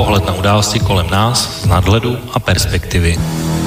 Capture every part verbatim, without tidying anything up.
Pohled na události kolem nás z nadhledu a perspektivy.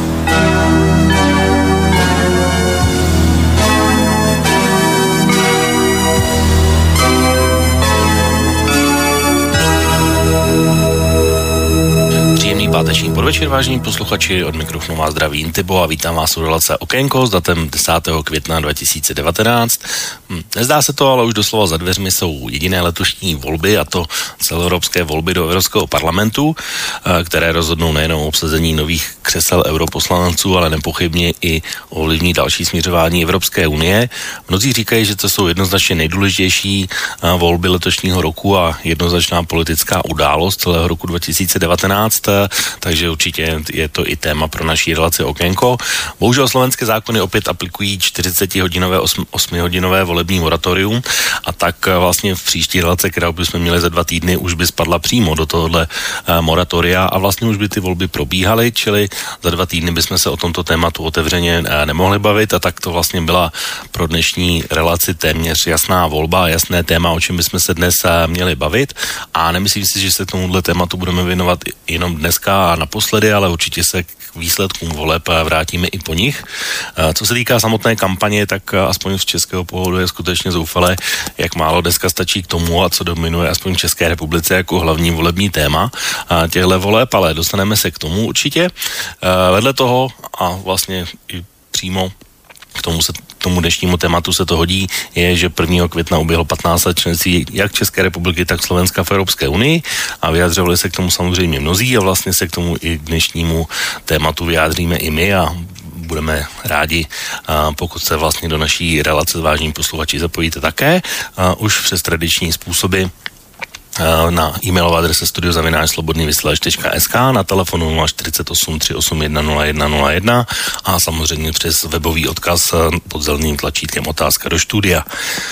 Páteční podvečer, vážení posluchači, od mikrofonu vás zdraví Intibo a vítám vás u relace Okénko s datem desátého května dva tisíce devatenáct. Nezdá se to, ale už doslova za dveřmi jsou jediné letošní volby, a to celoevropské volby do Evropského parlamentu, které rozhodnou nejenom o obsazení nových křesel europoslanců, ale nepochybně i ovlivní další směřování Evropské unie. Mnozí říkají, že to jsou jednoznačně nejdůležitější volby letošního roku a jednoznačná politická událost celého roku dva tisíce devatenáct. Takže určitě je to i téma pro naší relaci Okénko. Bohužel slovenské zákony opět aplikují čtyřicetihodinové, osmihodinové volební moratorium a tak vlastně v příští relace, kterou bychom měli za dva týdny, už by spadla přímo do tohohle moratoria a vlastně už by ty volby probíhaly, čili za dva týdny bychom se o tomto tématu otevřeně nemohli bavit a tak to vlastně byla pro dnešní relaci téměř jasná volba a jasné téma, o čem bychom se dnes měli bavit, a nemyslím si, že se k tomuhle tématu budeme věnovat jenom dneska a naposledy, ale určitě se k výsledkům voleb vrátíme i po nich. Co se týká samotné kampaně, tak aspoň z českého pohledu je skutečně zoufalé, jak málo dneska stačí k tomu a co dominuje aspoň v České republice jako hlavní volební téma těchto voleb, ale dostaneme se k tomu určitě. Vedle toho a vlastně i přímo k tomu se tomu dnešnímu tématu se to hodí, je, že prvního května uběhlo patnáct let členství jak České republiky, tak Slovenska v Evropské unii a vyjadřovali se k tomu samozřejmě mnozí a vlastně se k tomu i k dnešnímu tématu vyjádříme i my a budeme rádi, pokud se vlastně do naší relace s vážnými posluchači zapojíte také, už přes tradiční způsoby na e-mailové adrese studio zavináč slobodný vysílač tečka es ká, na telefonu nula čtyřicet osm tři osm jedna nula jedna nula jedna a samozřejmě přes webový odkaz pod zeleným tlačítkem otázka do studia.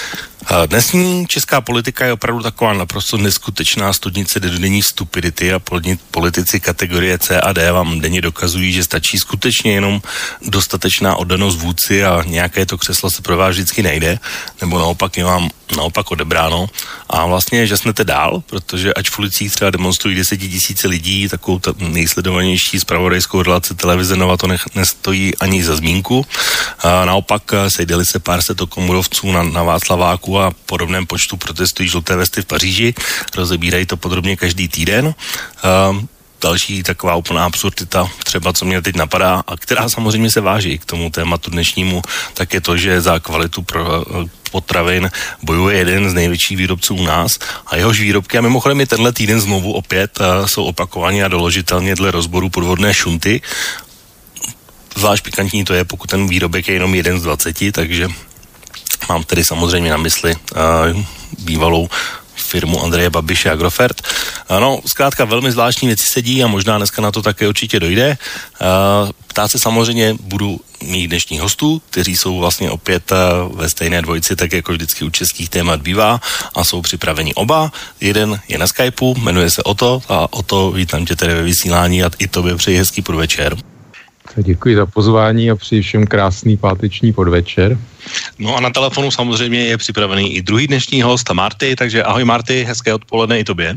Dnesní česká politika je opravdu taková naprosto neskutečná studnice denní stupidity a politici kategorie C a D vám denně dokazují, že stačí skutečně jenom dostatečná oddanost vůdci a nějaké to křeslo se pro vás vždycky nejde, nebo naopak je vám naopak odebráno a vlastně žasnete dál, protože ať v ulicích třeba demonstrují desetitisíce lidí, takovou ta nejsledovanější zpravodajskou relaci televize Nova to nech, nestojí ani za zmínku. A naopak sejdeli se pár set komurovců na, na Václaváku a podobném počtu protestují žluté vesty v Paříži, rozebírají to podrobně každý týden. A další taková úplná absurdita, třeba co mě teď napadá a která samozřejmě se váží k tomu tématu dnešnímu, tak je to, že za kvalitu pro potravin bojuje jeden z největších výrobců u nás a jehož výrobky, a mimochodem i tenhle týden znovu opět jsou opakovaně a doložitelně dle rozboru podvodné šunty. Zvlášť pikantní to je, pokud ten výrobek je jenom jeden z dvaceti, takže mám tedy samozřejmě na mysli uh, bývalou firmu Andreje Babiše Agrofert. No, zkrátka velmi zvláštní věci se dějí a možná dneska na to také určitě dojde. Ptát se samozřejmě budu mít dnešních hostů, kteří jsou vlastně opět ve stejné dvojici, tak jako vždycky u českých témat bývá a jsou připraveni oba. Jeden je na Skypeu, jmenuje se Oto a Oto, vítám tě tady ve vysílání a i tobě přeji hezký podvečer. Děkuji za pozvání a přeji všem krásný páteční podvečer. No a na telefonu samozřejmě je připravený i druhý dnešní host, Marty, takže ahoj Marty, hezké odpoledne i tobě.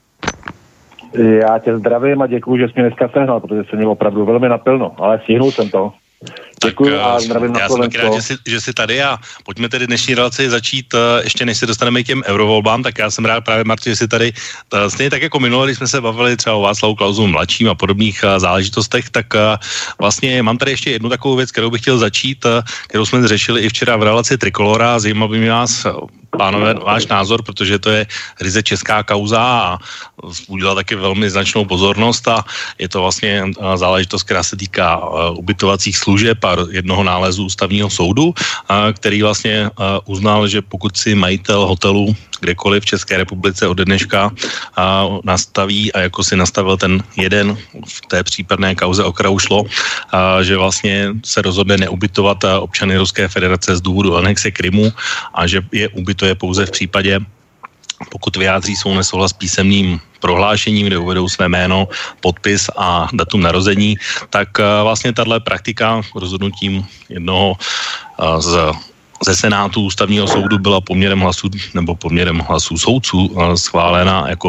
Já tě zdravím a děkuji, že jsi mě dneska sehnal, protože jsem měl opravdu velmi napilno, ale stihnul jsem to. Děkuji a zdravím na Slovensko. Já jsem rád, že jsi, že jsi tady a pojďme tedy dnešní relaci začít, ještě než se dostaneme k těm eurovolbám, tak já jsem rád právě, Marti, že jsi tady, stejně tak jako minule, když jsme se bavili třeba o Václavu Klausu mladším a podobných záležitostech, tak vlastně mám tady ještě jednu takovou věc, kterou bych chtěl začít, kterou jsme řešili i včera v relaci Trikolora, zajímavý by mě vás, pánové, váš názor, protože to je ryze česká kauza a udělala taky velmi značnou pozornost a je to vlastně záležitost, která se týká ubytovacích služeb a jednoho nálezu ústavního soudu, který vlastně uznal, že pokud si majitel hotelu kdekoliv v České republice od dneška nastaví a jako si nastavil ten jeden v té případné kauze, o kterou šlo, že vlastně se rozhodne neubytovat občany Ruské federace z důvodu anexe Krymu a že je ubytuje pouze v případě, pokud vyjádří svou nesouhlas písemným prohlášením, kde uvedou své jméno, podpis a datum narození, tak vlastně tato praktika rozhodnutím jednoho z ze Senátu ústavního soudu byla poměrem hlasů nebo poměrem hlasů soudců schválena jako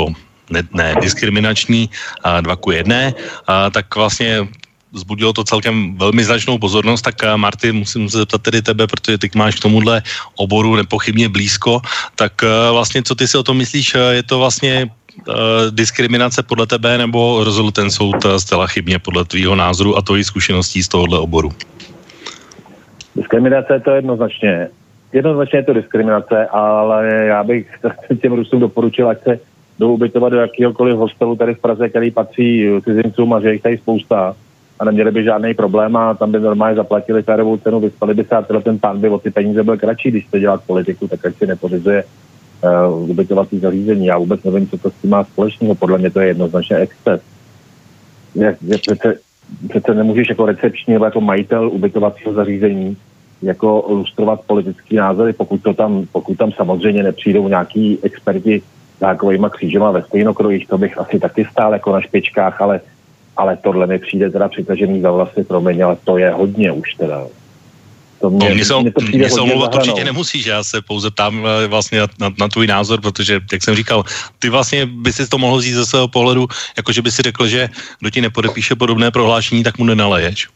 ne, ne diskriminační, dva ku jedné, tak vlastně vzbudilo to celkem velmi značnou pozornost, tak Marty, musím se zeptat tedy tebe, protože ty máš k tomuhle oboru nepochybně blízko, tak vlastně co ty si o tom myslíš, je to vlastně diskriminace podle tebe, nebo rozhodl ten soud zcela chybně podle tvýho názoru a tvojí zkušeností z tohohle oboru? Diskriminace to jednoznačně. Jednoznačně je to diskriminace, ale já bych těm Rusům doporučil, ať se jdou ubytovat do jakýhokoliv hostelu tady v Praze, který patří cizincům a že jich tady spousta a neměli by žádný problém a tam by normálně zaplatili férovou cenu, vyspali by se a ten pán by o ty peníze byl kratší, když chce dělat politiku, tak ať si nepořizuje uh, ubytovací zařízení. Já vůbec nevím, co to s tím má společného, podle mě to je jednoznačně exces. Je, je přece, přece nemůžeš jako recepční nebo jako majitel ubytovacího zařízení jako lustrovat politický názory, pokud, to tam, pokud tam samozřejmě nepřijdou nějaký experti takovýma křížema ve stejnokrojích, to bych asi taky stál jako na špičkách, ale, ale tohle mi přijde teda přitažený za vlasy, promiň, ale to je hodně už teda. To mě, no, mě, mě, to mě se omlouvat určitě nemusíš, já se pouze ptám vlastně na, na, na tvůj názor, protože, jak jsem říkal, ty vlastně by si to mohl říct ze svého pohledu, jakože by si řekl, že kdo ti nepodepíše podobné prohlášení, tak mu nenaleješ.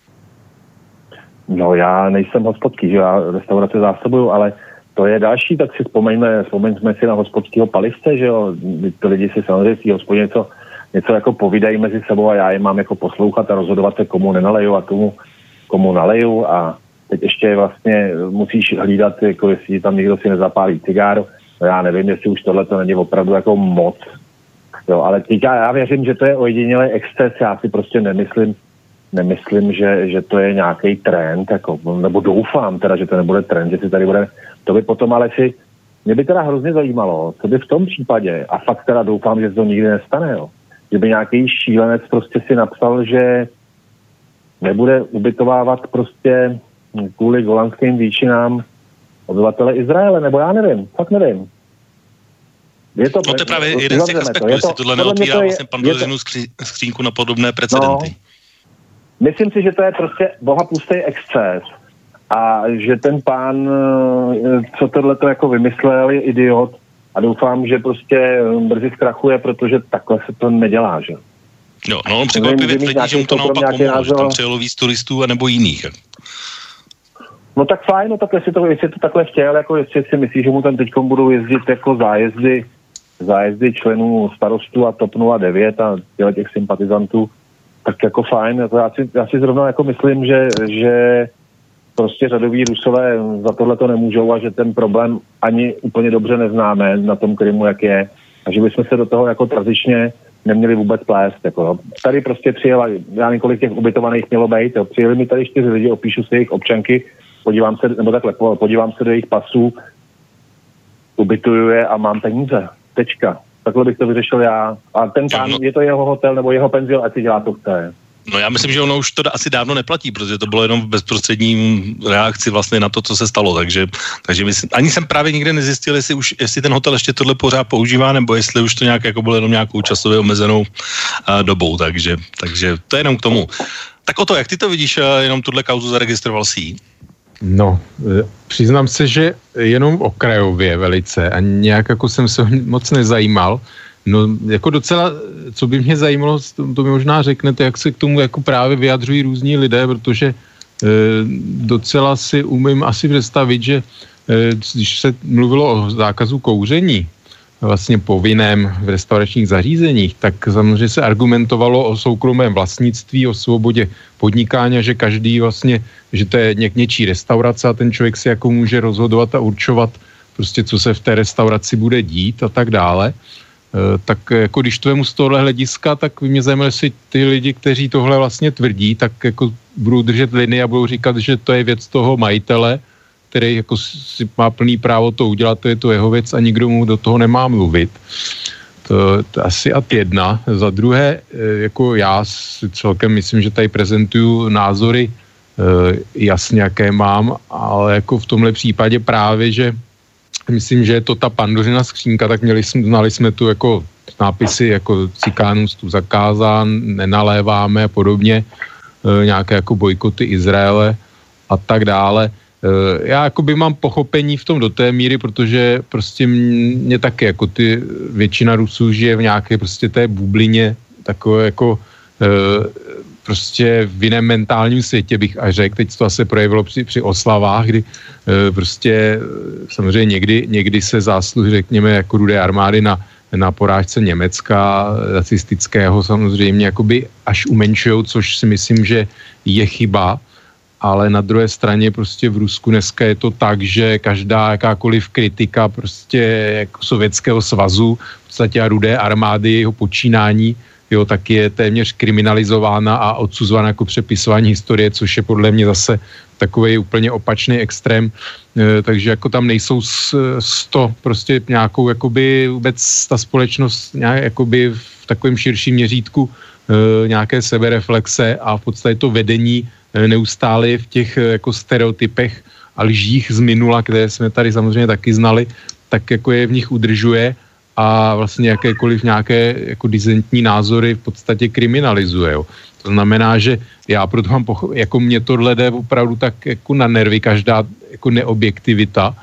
No já nejsem hospodský, že já restaurace zásobuju, ale to je další, tak si vzpomeňme, vzpomeňme si na hospodského palivce, že jo, to lidi si samozřejmě si hospodě něco, něco jako povídají mezi sebou a já je mám jako poslouchat a rozhodovat se, komu nenaleju a komu, komu naleju a teď ještě vlastně musíš hlídat, jako jestli tam někdo si nezapálí cigáru, no já nevím, jestli už tohle to není opravdu jako moc, jo, ale teď já, já věřím, že to je ojedinělý exces, já si prostě nemyslím, Nemyslím, že, že to je nějaký trend, jako, nebo doufám teda, že to nebude trend, že si tady bude, to by potom ale si, mě by teda hrozně zajímalo, co by v tom případě, a fakt teda doufám, že se to nikdy nestane, jo, že by nějaký šílenec prostě si napsal, že nebude ubytovávat prostě kvůli golanským výčinám obyvatele Izraele, nebo já nevím, fakt nevím. Je to, no to je právě jeden z těch aspektů, jestli to, tohle neotvírá vlastně Pandořinu skřínku na podobné precedenty. No, myslím si, že to je prostě bohapustý exces a že ten pán, co tohle to jako vymyslel, je idiot a doufám, že prostě brzy zkrachuje, protože takhle se to nedělá, že? Jo, no on překvapivě tvrdí, že mu to naopak pomohlo, že tam přijelo víc turistů anebo jiných. No tak fajn, no tak jestli to, jestli to takhle chtěl, jako jestli si myslí, že mu tam teďkom budou jezdit jako zájezdy, zájezdy členů starostu a TOP nula devět a těch sympatizantů, tak jako fajn, jako já, si, já si zrovna jako myslím, že, že prostě řadoví Rusové za tohle to nemůžou a že ten problém ani úplně dobře neznáme na tom Krymu, jak je a že bychom se do toho jako tradičně neměli vůbec plést. Jako. Tady prostě přijela, já několik těch ubytovaných mělo být, jo. Přijeli mi tady čtyři lidi, opíšu si jejich občanky, podívám se, nebo takhle, podívám se do jejich pasů, ubytuju je a mám peníze. Tečka. Takhle bych to vyřešil já. A ten pán, no, je to jeho hotel nebo jeho penzion, ať si dělá to chce. No já myslím, že ono už to asi dávno neplatí, protože to bylo jenom v bezprostředním reakci vlastně na to, co se stalo, takže, takže myslím, ani jsem právě nikde nezjistil, jestli, už, jestli ten hotel ještě tohle pořád používá, nebo jestli už to nějak jako bylo jenom nějakou časově omezenou uh, dobou, takže, takže to je jenom k tomu. Tak o to, jak ty to vidíš, uh, jenom tuhle kauzu zaregistroval jsi ji? No, přiznám se, že jenom okrajově velice a nějak jako jsem se moc nezajímal. No, jako docela, co by mě zajímalo, to, to mi možná řeknete, jak se k tomu jako právě vyjadřují různí lidé, protože e, docela si umím asi představit, že e, když se mluvilo o zákazu kouření, vlastně povinném v restauračních zařízeních, tak samozřejmě se argumentovalo o soukromém vlastnictví, o svobodě podnikání, že každý vlastně, že to je něk, něčí restaurace a ten člověk si jako může rozhodovat a určovat prostě, co se v té restauraci bude dít a tak dále. E, tak jako když to vemu z tohohle hlediska, tak mě zajímalo, jestli ty lidi, kteří tohle vlastně tvrdí, tak jako budou držet linii a budou říkat, že to je věc toho majitele, který jako si má plný právo to udělat, to je to jeho věc a nikdo mu do toho nemá mluvit. To, to asi ad jedna. Za druhé, jako já si celkem myslím, že tady prezentuju názory jasně, jaké mám, ale jako v tomhle případě právě, že myslím, že je to ta Pandořina skřínka, tak měli jsme, znali jsme tu jako nápisy jako cikánům tu zakázán, nenaléváme a podobně, nějaké jako bojkoty Izraele a tak dále. já jakoby mám pochopení v tom do té míry, protože prostě mě taky, jako ty většina Rusů žije v nějaké prostě té bublině, takové jako prostě v jiném mentálním světě bych až řekl. Teď to asi projevilo při, při oslavách, kdy prostě samozřejmě někdy, někdy se zásluhy, řekněme, jako Rudé armády na, na porážce Německa, nacistického samozřejmě, jakoby až umenšujou, což si myslím, že je chyba, ale na druhé straně prostě v Rusku dneska je to tak, že každá jakákoliv kritika prostě jako Sovětského svazu, v podstatě a Rudé armády, jeho počínání, jo, tak je téměř kriminalizována a odsuzována jako přepisování historie, což je podle mě zase takový úplně opačný extrém, e, takže jako tam nejsou sto prostě nějakou jakoby vůbec ta společnost nějak, jakoby v takovém širším měřítku e, nějaké sebereflexe a v podstatě to vedení e, neustále v těch e, jako stereotypech a lžích z minula, které jsme tady samozřejmě taky znali, tak jako je v nich udržuje a vlastně jakékoliv nějaké jako dizentní názory v podstatě kriminalizuje. Jo. To znamená, že já proto mám, pocho- jako mě tohle jde opravdu tak jako na nervy, každá jako neobjektivita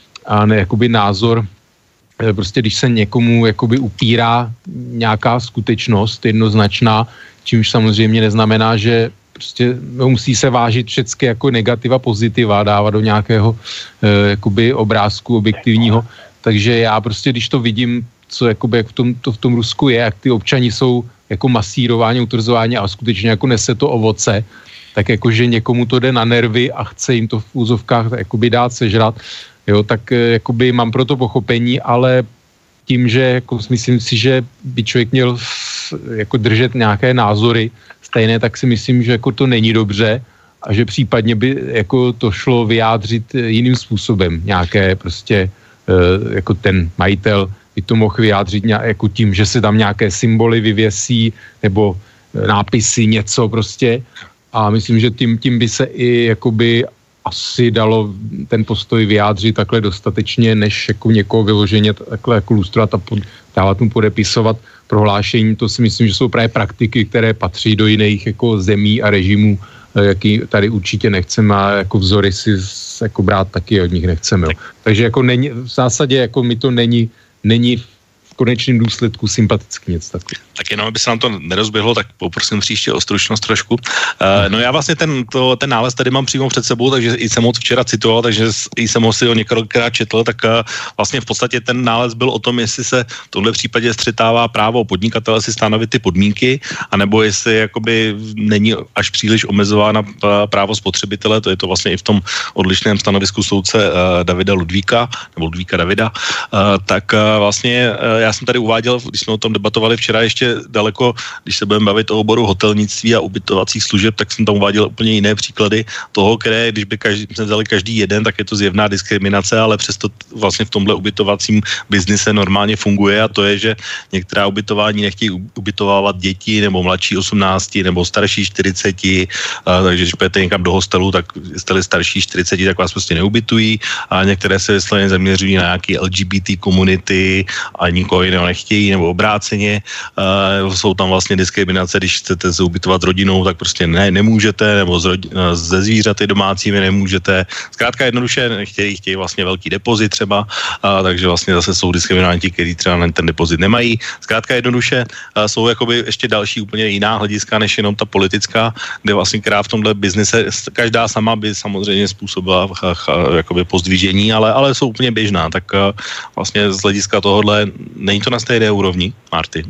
a ne, jakoby názor, prostě když se někomu jakoby upírá nějaká skutečnost jednoznačná, čímž samozřejmě neznamená, že prostě musí se vážit všechny jako negativa, pozitiva, dávat do nějakého eh, jakoby obrázku objektivního. Takže já prostě, když to vidím, co jakoby, jak v tom, to v tom Rusku je, jak ty občani jsou jako masírováni, utvrzováni a skutečně jako nese to ovoce, tak jakože někomu to jde na nervy a chce jim to v úzovkách jakoby dát sežrat, jo, tak jakoby mám pro to pochopení, ale tím, že jako myslím si, že by člověk měl jako držet nějaké názory stejné, tak si myslím, že jako to není dobře a že případně by jako to šlo vyjádřit jiným způsobem, nějaké prostě jako ten majitel by to mohl vyjádřit jako tím, že se tam nějaké symboly vyvěsí nebo nápisy, něco prostě a myslím, že tím, tím by se i jakoby asi dalo ten postoj vyjádřit takhle dostatečně, než jako někoho vyloženě takhle jako lustrovat a pod, dávat mu podepisovat prohlášení. To si myslím, že jsou právě praktiky, které patří do jiných jako zemí a režimů, jaký tady určitě nechceme a jako vzory si jako brát taky od nich nechceme. Jo. Takže jako není, v zásadě jako mi to není, není v konečném důsledku sympatický něco takového. Tak jenom, aby se nám to nerozběhlo, tak poprosím příště o stručnost trošku. Uh, no já vlastně ten, to, ten nález tady mám přímo před sebou, takže i jsem ho včera citoval, takže i jsem ho si ho několikrát četl, tak uh, vlastně v podstatě ten nález byl o tom, jestli se v tomhle případě střetává právo podnikatele si stanovit ty podmínky, anebo jestli jakoby není až příliš omezována právo spotřebitele, to je to vlastně i v tom odlišném stanovisku soudce uh, Davida Ludvíka, nebo Ludvíka Davida, uh, tak uh, vlastně uh, já jsem tady uváděl, když jsme o tom debatovali včera ještě daleko, když se budeme bavit o oboru hotelnictví a ubytovacích služeb, tak jsem tam uváděl úplně jiné příklady toho, které, když by každý, jsme vzali každý jeden, tak je to zjevná diskriminace, ale přesto vlastně v tomhle ubytovacím biznise normálně funguje a to je, že některá ubytování nechtějí ubytovávat děti nebo mladší osmnácti nebo starší čtyřiceti, a, takže když půjdete někam do hostelu, tak jste-li starší čtyřiceti, tak vás prostě neubytují a některé se vysloveně zaměřují na nějaký L G B T komunity a nikoho jiného nechtějí nebo obráceně. Uh, jsou tam vlastně diskriminace, když chcete se ubytovat s rodinou, tak prostě ne, nemůžete, nebo z rodi, ze zvířaty domácími nemůžete. Zkrátka jednoduše nechtějí, chtějí vlastně velký depozit třeba, uh, takže vlastně zase jsou diskriminanti, kteří třeba ten depozit nemají. Zkrátka jednoduše uh, jsou jakoby ještě další úplně jiná hlediska, než jenom ta politická, kde vlastně která v tomhle biznise, každá sama by samozřejmě způsobila uh, uh, jakoby pozdvižení, ale, ale jsou úplně běžná, tak uh, vlastně z hlediska tohohle není to na stejné úrovni, Marty?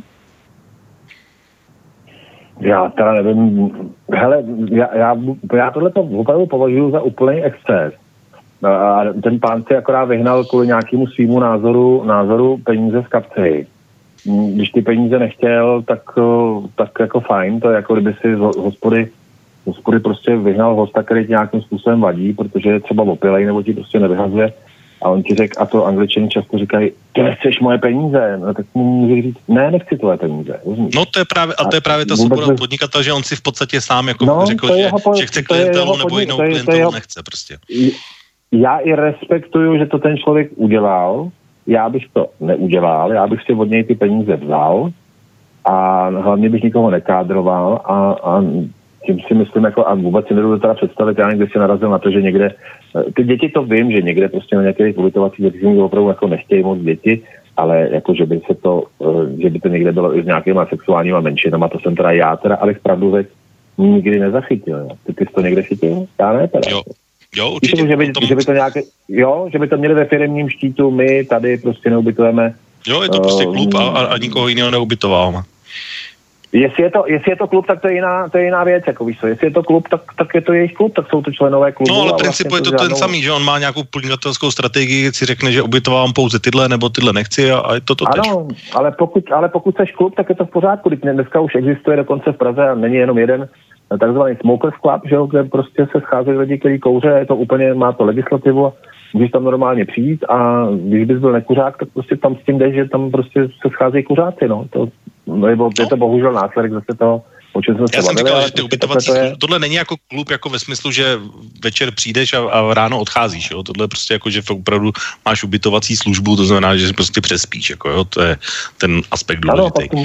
Já teda nevím, hele, já, já, já tohle to opravdu považuji za úplný exces. A ten pán si akorát vyhnal kvůli nějakému svýmu názoru, názoru peníze z kapsy. Když ty peníze nechtěl, tak, tak jako fajn, to je jako kdyby si z hospody, hospody prostě vyhnal hosta, který ti nějakým způsobem vadí, protože je třeba opilej nebo ti prostě nevyhazuje. A on ti řekl, a to Angličani často říkají, ty nechceš moje peníze, no tak mu může říct, ne, nechci tvoje peníze. Rozumíš? No to je právě, a to je právě ta svoboda podnikatel, že on si v podstatě sám jako no, řekl, že, po, že chce klientelu nebo jinou to je, klientelu to je, nechce prostě. Já i respektuju, že to ten člověk udělal, já bych to neudělal, já bych si od něj ty peníze vzal a hlavně bych nikoho nekádroval a, a tím si myslím, jako, a vůbec si nedovedu teda představit, já někdy si narazil na to, že někde, ty děti to vím, že někde prostě na nějakých ubytovacích zařízeních opravdu jako nechtějí moc děti, ale jako, že by se to, že by to někde bylo i s nějakýma sexuálníma menšinama, to jsem teda já teda, ale pravdu věc nikdy nezachytil. Jo. Ty, ty jsi to někde chytil? Já ne teda. Jo. Jo, určitě. Že by, tom... že by to nějaké, jo, že by to měli ve firemním štítu, my tady prostě neubytujeme. Jo, je to prostě klub a, a nikoho jiného neubytováme. Jestli je, to, jestli je to klub, tak to je jiná, to je jiná věc, jako víš co. Jestli je to klub, tak, tak je to jejich klub, tak jsou to členové klubu. No ale principu vlastně je to ten žádnou... samý, že on má nějakou podnikatelskou strategii, si řekne, že ubytovám pouze tyhle nebo tyhle nechci a, a je to to tež. Ano, ale pokud, ale pokud seš klub, tak je to v pořádku. Dneska už existuje dokonce v Praze a není jenom jeden takzvaný Smokers Club, že jo, kde prostě se scházejí lidi, kteří kouře, je to úplně, má to legislativu a můžeš tam normálně přijít a když bys byl nekuřák, tak prostě tam s tím jdeš, že tam prostě se scházejí kuřáci, no. To, nebo je to bohužel následek zase toho, o čem jsme se Já jsem bavili, říkal, že ty ubytovací to je... tohle není jako klub jako ve smyslu, že večer přijdeš a, a ráno odcházíš, jo. Tohle je prostě jako, že opravdu máš ubytovací službu, to znamená, že prostě přespíš, jako jo, to je ten aspekt důležitý. Ano,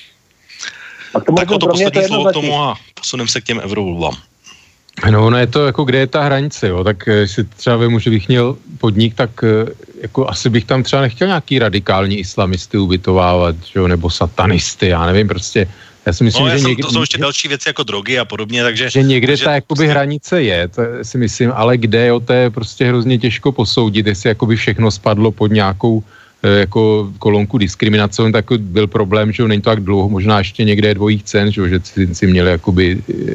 tak o to poslední slovo k tomu a posuneme se k těm eurovolbám. No, ono je to jako, kde je ta hranice, jo, tak si třeba vemu, že bych měl podnik, tak jako asi bych tam třeba nechtěl nějaký radikální islamisty ubytovávat, jo, nebo satanisty, já nevím, prostě, já si myslím, no, já že jsem, někdy... To jsou ještě další věci jako drogy a podobně, takže... Že někde takže ta jakoby prostě... hranice je, to si myslím, ale kde, jo, to je prostě hrozně těžko posoudit, jestli jakoby všechno spadlo pod nějakou jako kolonku diskriminace, tak byl problém, že není to tak dlouho, možná ještě někde je dvojích cen, že cizinci měli jakoby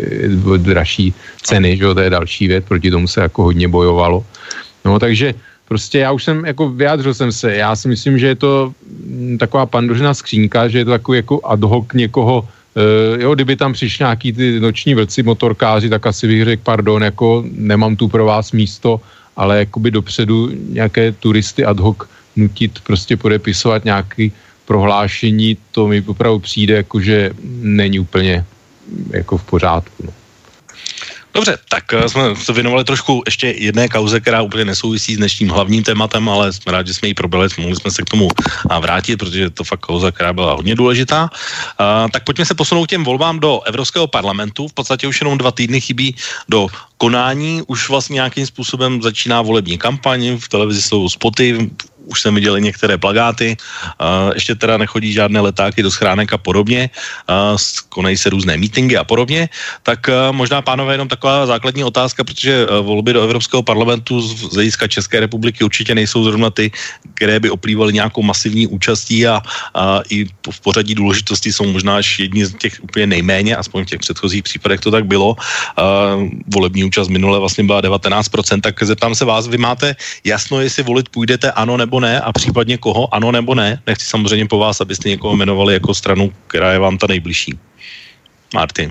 dražší ceny, že to je další věc, proti tomu se jako hodně bojovalo. No takže prostě já už jsem, jako vyjádřil jsem se, já si myslím, že je to taková pandořina skřínka, že je to takový jako ad hoc někoho, Uh, jo, kdyby tam přišli nějaký ty noční vlci, motorkáři, tak asi bych řekl, pardon, jako nemám tu pro vás místo, ale jakoby dopředu nějaké turisty ad hoc nutit prostě podepisovat nějaké prohlášení, to mi opravdu přijde, jako že není úplně jako v pořádku. No. Dobře, tak jsme se věnovali trošku ještě jedné kauze, která úplně nesouvisí s dnešním hlavním tématem, ale jsme rádi, že jsme ji probrali, mohli jsme se k tomu vrátit, protože je to fakt kauza, která byla hodně důležitá. Uh, tak pojďme se posunout těm volbám do Evropského parlamentu. V podstatě už jenom dva týdny chybí do konání, už vlastně nějakým způsobem začíná volební kampaň, v televizi jsou spoty, už jsem viděl některé plakáty, uh, ještě teda nechodí žádné letáky do schránek a podobně, uh, konají se různé mítingy a podobně, tak uh, možná, pánové, jenom taková základní otázka, protože uh, volby do Evropského parlamentu z hlediska České republiky určitě nejsou zrovna ty, které by oplývaly nějakou masivní účastí a uh, i v pořadí důležitosti jsou možná až jedni z těch úplně nejméně, aspoň v těch předchozích případech to tak bylo. Uh, volební účast minule vlastně byla devatenáct procent, tak zeptám se vás, vy máte jasno, jestli volit půjdete ano nebo ne a případně koho, ano nebo ne. Nechci samozřejmě po vás, abyste někoho jmenovali jako stranu, která je vám ta nejbližší. Martin.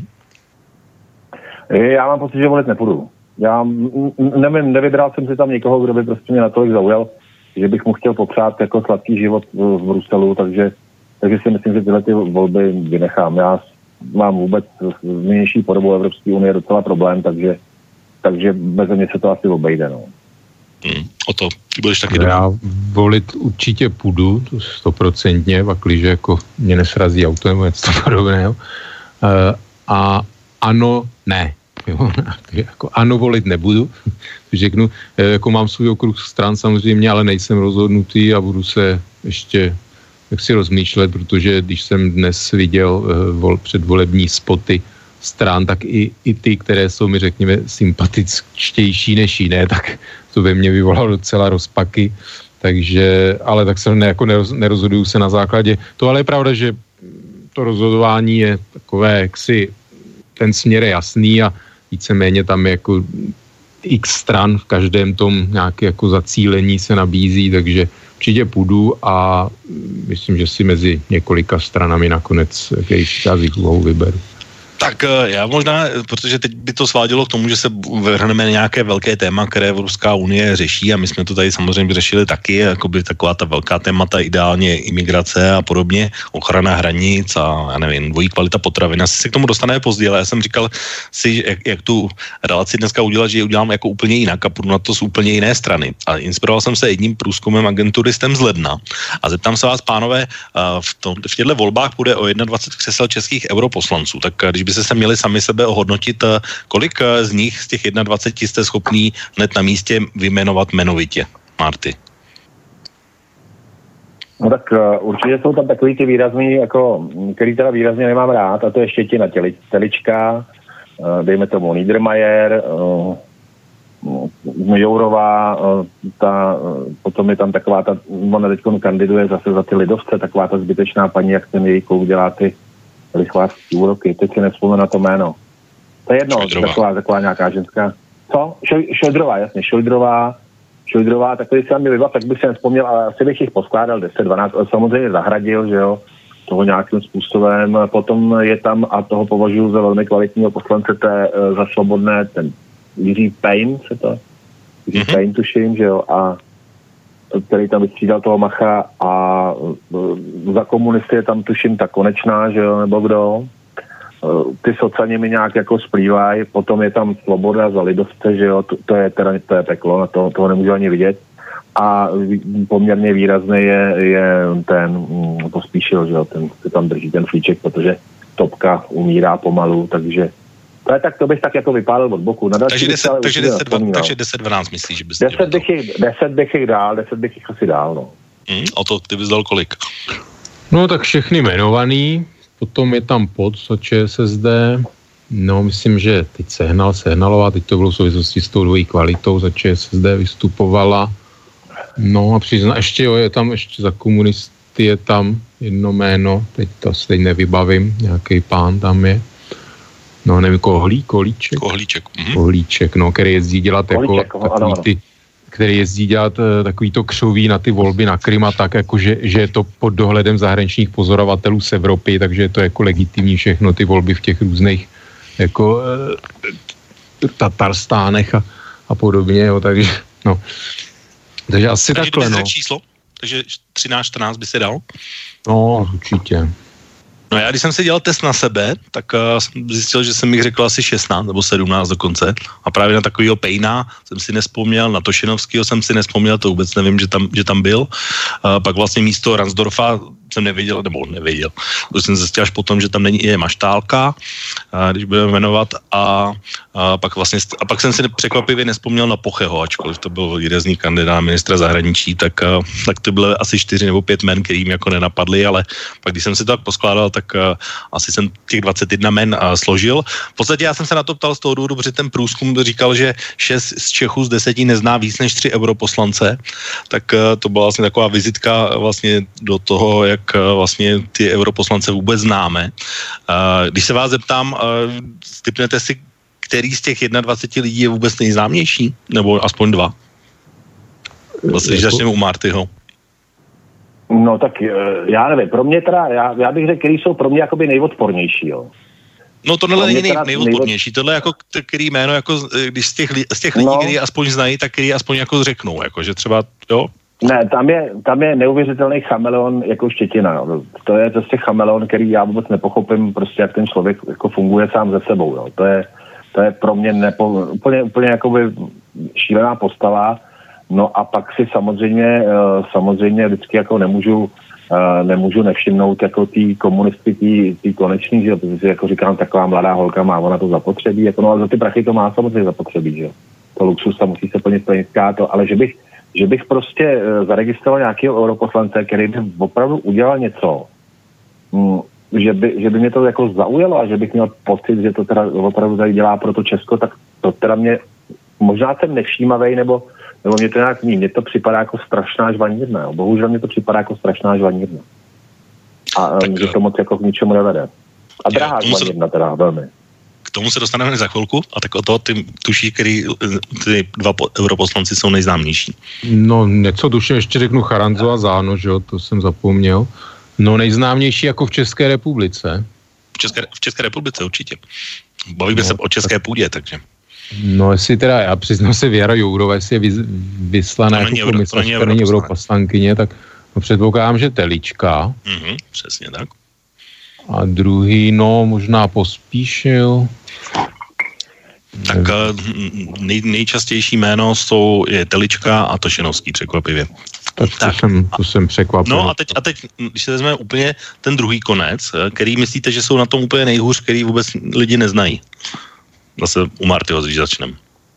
Já mám pocit, že volit nepůjdu. Já nevím, nevybral jsem si tam někoho, kdo by prostě mě natolik zaujal, že bych mu chtěl popřát jako sladký život v Bruselu, takže, takže si myslím, že tyhle ty volby vynechám. Já mám vůbec nynější podobu Evropské unie docela problém, takže, takže bez mě se to asi obejde. No. Hmm, o to, ty budeš taky no, já volit určitě půjdu, to stoprocentně, pakliže jako mě nesrazí auto nebo něco podobného. Uh, a ano, ne. Jo, jako ano, volit nebudu. Řeknu, jako mám svůj okruh stran samozřejmě, ale nejsem rozhodnutý a budu se ještě jak si rozmýšlet, protože když jsem dnes viděl uh, vol, předvolební spoty stran, tak i, i ty, které jsou mi, řekněme, sympatičtější než jiné, tak to ve mně vyvolalo docela rozpaky, takže, ale tak se ne, jako neroz, nerozhoduju se na základě. To ale je pravda, že to rozhodování je takové, jaksi ten směr je jasný a víceméně tam je jako x stran v každém tom nějaké jako zacílení se nabízí, takže určitě půjdu a myslím, že si mezi několika stranami nakonec, když já z jich vyberu. Tak já možná, protože teď by to svádělo k tomu, že se vrhneme na nějaké velké téma, které Evropská unie řeší a my jsme to tady samozřejmě řešili taky, jakoby taková ta velká témata, ideálně imigrace a podobně, ochrana hranic a já nevím, dvojí kvalita potravin. Asi se k tomu dostaneme později, ale já jsem říkal si, jak, jak tu relaci dneska udělat, že ji udělám jako úplně jinak a půjdu na to z úplně jiné strany. A inspiroval jsem se jedním průzkumem agenturistem z ledna a zeptám se vás, pánové, v, tom, v těchto volbách bude o dvacet jedna křesel českých europoslanců, tak když by kdybyste se měli sami sebe ohodnotit, kolik z nich, z těch dvacet jedna, jste schopný hned na místě vyjmenovat jmenovitě, Marty? No tak uh, určitě jsou tam takový ty výrazný, jako, který teda výrazně nemám rád, a to je Štětina těli, Telička, uh, dejme tomu Niedermayer, uh, Jourová, uh, ta, uh, potom je tam taková ta, ona teď kandiduje zase za ty lidovce, taková ta zbytečná paní, jak ten její kluk dělá ty lichvářský úroky, teď si nevzpomenu na to jméno. To je jedno, taková, taková nějaká ženská. Co? Šojdrová, jasně, Šojdrová, Šojdrová, takový se mi vybav, tak bych si nevzpomněl, ale asi bych jich poskládal deset dvanáct, ale samozřejmě Zahradil, že jo, toho nějakým způsobem. Potom je tam, a toho považuji za velmi kvalitního poslance, té za Svobodné, ten Jiří Pejn, se to? Jiří mm-hmm. Pejn, tuším, že jo, a který tam vystřídal toho Macha, a za komunisty je tam tuším ta Konečná, že jo, nebo kdo. Ty socani mi nějak jako splývají, potom je tam Svoboda za lidovce, že jo, to, to je teda to je peklo, na to, toho nemůžu ani vidět. A poměrně výrazný je, je ten Pospíšil, že jo, ten se tam drží ten flíček, protože Topka umírá pomalu, takže to je tak, to bych tak jako vypálil od boku. Na takže deset dvanáct myslíš, že byste deset bych, jich, deset bych jich dál, deset bych jich asi dál, no. Hmm, a to ty bys dal kolik? No tak všechny jmenovaný. Potom je tam pod za ČSSD, no myslím, že teď Sehnal, Sehnalová, teď to bylo v souvislosti s tou dvojí kvalitou, za ČSSD vystupovala. No a přizná, ještě jo, je tam ještě za komunisty je tam jedno jméno, teď to teď nevybavím, nějaký pán tam je. No nevím, Kohlí, Kohlíček? Kohlíček. Mhm. Kohlíček, no, který jezdí dělat jako takový ty, který jezdí dělat takový to křoví na ty volby na Krym a tak, jako že, že je to pod dohledem zahraničních pozorovatelů z Evropy, takže je to jako legitimní všechno ty volby v těch různých jako e, Tatarstánech a, a podobně, jo, takže no. Takže asi takže takhle, no. číslo? Takže třináct čtrnáct by se dal? No, určitě. No já, když jsem si dělal test na sebe, tak uh, jsem zjistil, že jsem jich řekl asi šestnáct nebo sedmnáct dokonce. A právě na takovýho Pejna jsem si nespomněl, na Tošenovskýho jsem si nespomněl, to vůbec nevím, že tam, že tam byl. Uh, pak vlastně místo Ransdorfa jsem nevěděl, nebo nevěděl. To jsem zjistil až potom, že tam není i Maštálka, uh, když budeme jmenovat. A, a, pak vlastně, a pak jsem si překvapivě nespomněl na Pocheho, ačkoliv to byl výrazný kandidát ministra zahraničí, tak, uh, tak to bylo asi čtyři nebo pět men, kterým jako nenapadly, ale pak když jsem si to tak poskládal, tak uh, asi jsem těch dvacet jedna men uh, složil. V podstatě já jsem se na to ptal z toho důvodu, protože ten průzkum říkal, že šest z Čechů z deseti nezná víc než tři europoslance, tak uh, to byla vlastně taková vizitka vlastně do toho, jak uh, vlastně ty europoslance vůbec známe. Uh, když se vás zeptám, uh, tipnete si, který z těch dvacet jedna lidí je vůbec nejznámější? Nebo aspoň dva? Vlastně, když začneme u Martyho. No tak já nevím, pro mě teda, já, já bych řekl, který jsou pro mě jakoby nejodpornější, jo. No tohle není nej, nejodpornější, tohle je jako který jméno, jako když z těch, z těch lidí, no, který aspoň znají, tak který aspoň jako řeknou, jako že třeba, jo. Ne, tam je, tam je neuvěřitelný chameleon jako Štětina, no. To je prostě chameleon, který já vůbec nepochopím, prostě jak ten člověk jako funguje sám ze sebou, jo. To je, to je pro mě nepo, úplně, úplně jakoby šílená postava. No a pak si samozřejmě, samozřejmě vždycky jako nemůžu, nemůžu nevšimnout jako tý komunisty, tý, tý konečný, že protože si jako říkám, taková mladá holka má ona to zapotřebí, jako no ale za ty prachy to má samozřejmě zapotřebí, že to luxus tam musí se plnit plnická to, ale že bych, že bych prostě zaregistroval nějakého europoslance, který by opravdu udělal něco, že by, že by mě to jako zaujalo a že bych měl pocit, že to teda opravdu tady dělá pro to Česko, tak to teda mě, možná jsem nevšímavej, nebo nebo mě to nějak ní, mně to připadá jako strašná žvanírna, jo. Bohužel mě to připadá jako strašná žvanírna. A tak, že to moc jako k ničemu nevede. A drahá žvanírna teda, velmi. K tomu se dostaneme za chvilku, a tak o toho ty tuší, který ty dva europoslanci jsou nejznámější. No něco tuším, ještě řeknu Charanzo a Záno, že jo, to jsem zapomněl. No nejznámější jako v České republice. V České, v České republice určitě. Bavíme no, se o české tak... půdě, takže... No jestli teda, já přiznám se, Věra Jourová, jestli je vys, vyslaná jako komisařka, není europoslankyně, tak no, předpokládám, že Telička. Mm-hmm, přesně tak. A druhý, no možná Pospíšil. Tak nej, nejčastější jméno jsou je Telička a Tošenovský, překvapivě. Tak to, tak. Jsem, to jsem překvapil. No a teď, a teď, když se vezmeme úplně ten druhý konec, který myslíte, že jsou na tom úplně nejhůř, který vůbec lidi neznají? Zase u Martyho, když začneme.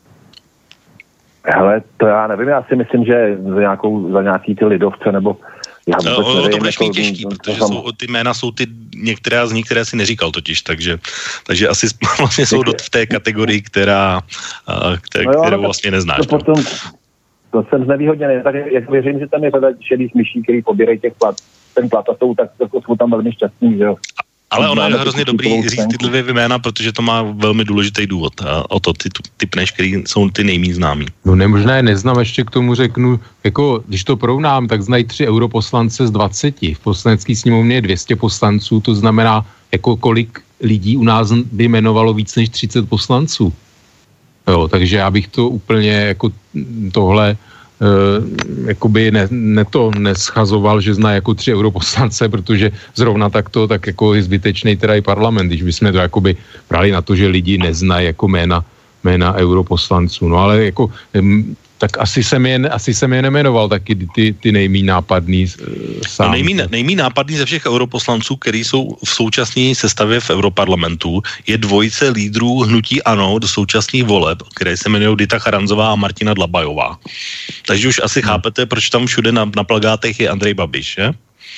Hele, to já nevím, já si myslím, že za, nějakou, za nějaký ty lidovce, nebo já vůbec no, nevím, to budeš mít těžký, to, protože to jsou, ty jména jsou ty některé z nich, které si neříkal totiž, takže, takže asi vlastně jsou do, v té kategorii, která, které, no jo, kterou vlastně neznáš. To, potom, to jsem znevýhodněný, tak jak věřím, že tam je řada šedých myší, který pobírají těch plat, ten plat a jsou, tak to jsou tam velmi šťastní, že jo. Ale ono je hrozně dobrý říct ty dvě jména, protože to má velmi důležitý důvod. A o to ty typneš, který jsou ty nejméně známí. No nemožná je neznám, ještě k tomu řeknu, jako když to porovnám, tak znají tři europoslance z dvaceti. V poslanecké sněmovně je dvě stě poslanců, to znamená, jako kolik lidí u nás by jmenovalo víc než třicet poslanců. Jo, takže já bych to úplně jako tohle Uh, jakoby ne, ne to neschazoval, že zná jako tři europoslance, protože zrovna takto, tak jako je zbytečný teda i parlament, když bychom to jakoby brali na to, že lidi neznají jako jména, jména europoslanců. No ale jako um, tak asi jsem je, asi jsem je nemenoval taky ty, ty nejmí nápadný uh, sám. No nejmí, nejmí nápadný ze všech europoslanců, který jsou v současné sestavě v Europarlamentu, je dvojice lídrů hnutí ANO do současných voleb, které se jmenují Dita Charanzová a Martina Dlabajová. Takže už asi hmm. chápete, proč tam všude na, na plakátech je Andrej Babiš, že?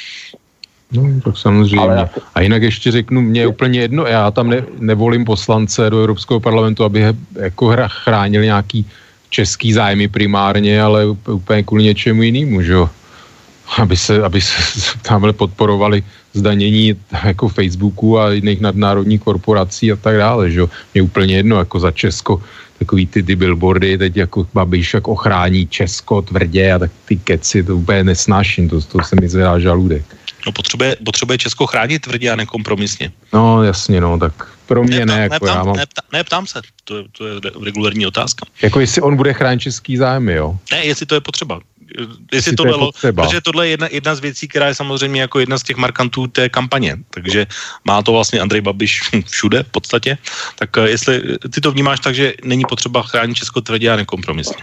No, tak samozřejmě. Ale... A jinak ještě řeknu, mě je úplně jedno, já tam ne, nevolím poslance do Evropského parlamentu, aby jako chránil nějaký český zájmy primárně, ale úplně kvůli něčemu jinému, že jo. Aby se, aby se tamhle podporovali zdanění jako Facebooku a jiných nadnárodních korporací a tak dále, že jo. Mě úplně jedno, jako za Česko, takový ty, ty billboardy, teď jako Babiš jak ochrání Česko tvrdě a tak ty keci, to úplně nesnáším, to, to se mi zvedá žaludek. No potřebuje, potřebuje Česko chránit tvrdě a nekompromisně. No jasně, no, tak pro mě ne. Jako neptám, já mám... neptám, neptám se, to je, to je regulární otázka. Jako jestli on bude chránit český zájmy, jo? Ne, jestli to je potřeba. Jestli tohle, to je potřeba. Protože tohle je jedna, jedna z věcí, která je samozřejmě jako jedna z těch markantů té kampaně. Takže má to vlastně Andrej Babiš všude v podstatě. Tak jestli ty to vnímáš tak, že není potřeba chránit Česko tvrdě a nekompromisně.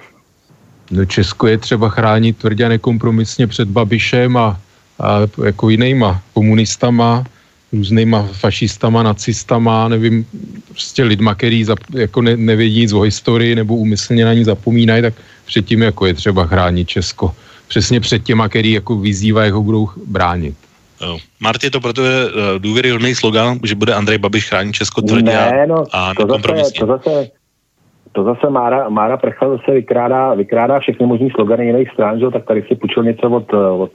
No Česko je třeba chránit tvrdě a nekompromisně před Babišem a a jako jinýma komunistama, různýma fašistama, nacistama, nevím, prostě lidma, který zap, jako ne, nevědí nic o historii nebo úmyslně na ní zapomínají, tak předtím jako je třeba chránit Česko. Přesně před těma, který jako vyzývají, jak ho budou bránit. Marty, to proto je důvěryhodný slogan, že bude Andrej Babiš chránit Česko tvrdě ne, no, a nekompromisně. To zase, to zase Mára, Mára Prcha zase vykrádá, vykrádá všechny možný slogany jiných stran, že? Tak tady si půjčil něco od, od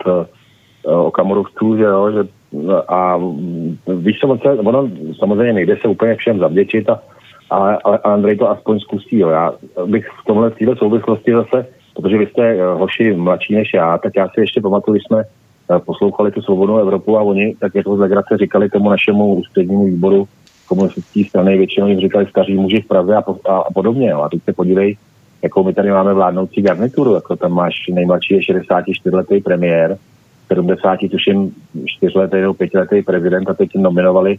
Okamurovců, že jo, že a víš co, ono samozřejmě nejde se úplně všem zavděčit, a, ale, ale Andrej to aspoň zkusí, jo. Já bych v tomhle téhle souvislosti zase, protože vy jste hoši mladší než já, tak já si ještě pamatuju, když jsme poslouchali tu Svobodnou Evropu a oni tak jako z legrace říkali tomu našemu ústřednímu výboru komunistické strany, většinou jim říkali staří muži v Praze a, po, a, a podobně, jo. A teď se podívej, jako my tady máme vládnoucí garnituru, jako tam máš nejmladší je šedesátičtyřletý premiér, sedmdesát, tuším, čtyřletý nebo pětiletý prezident a teď nominovali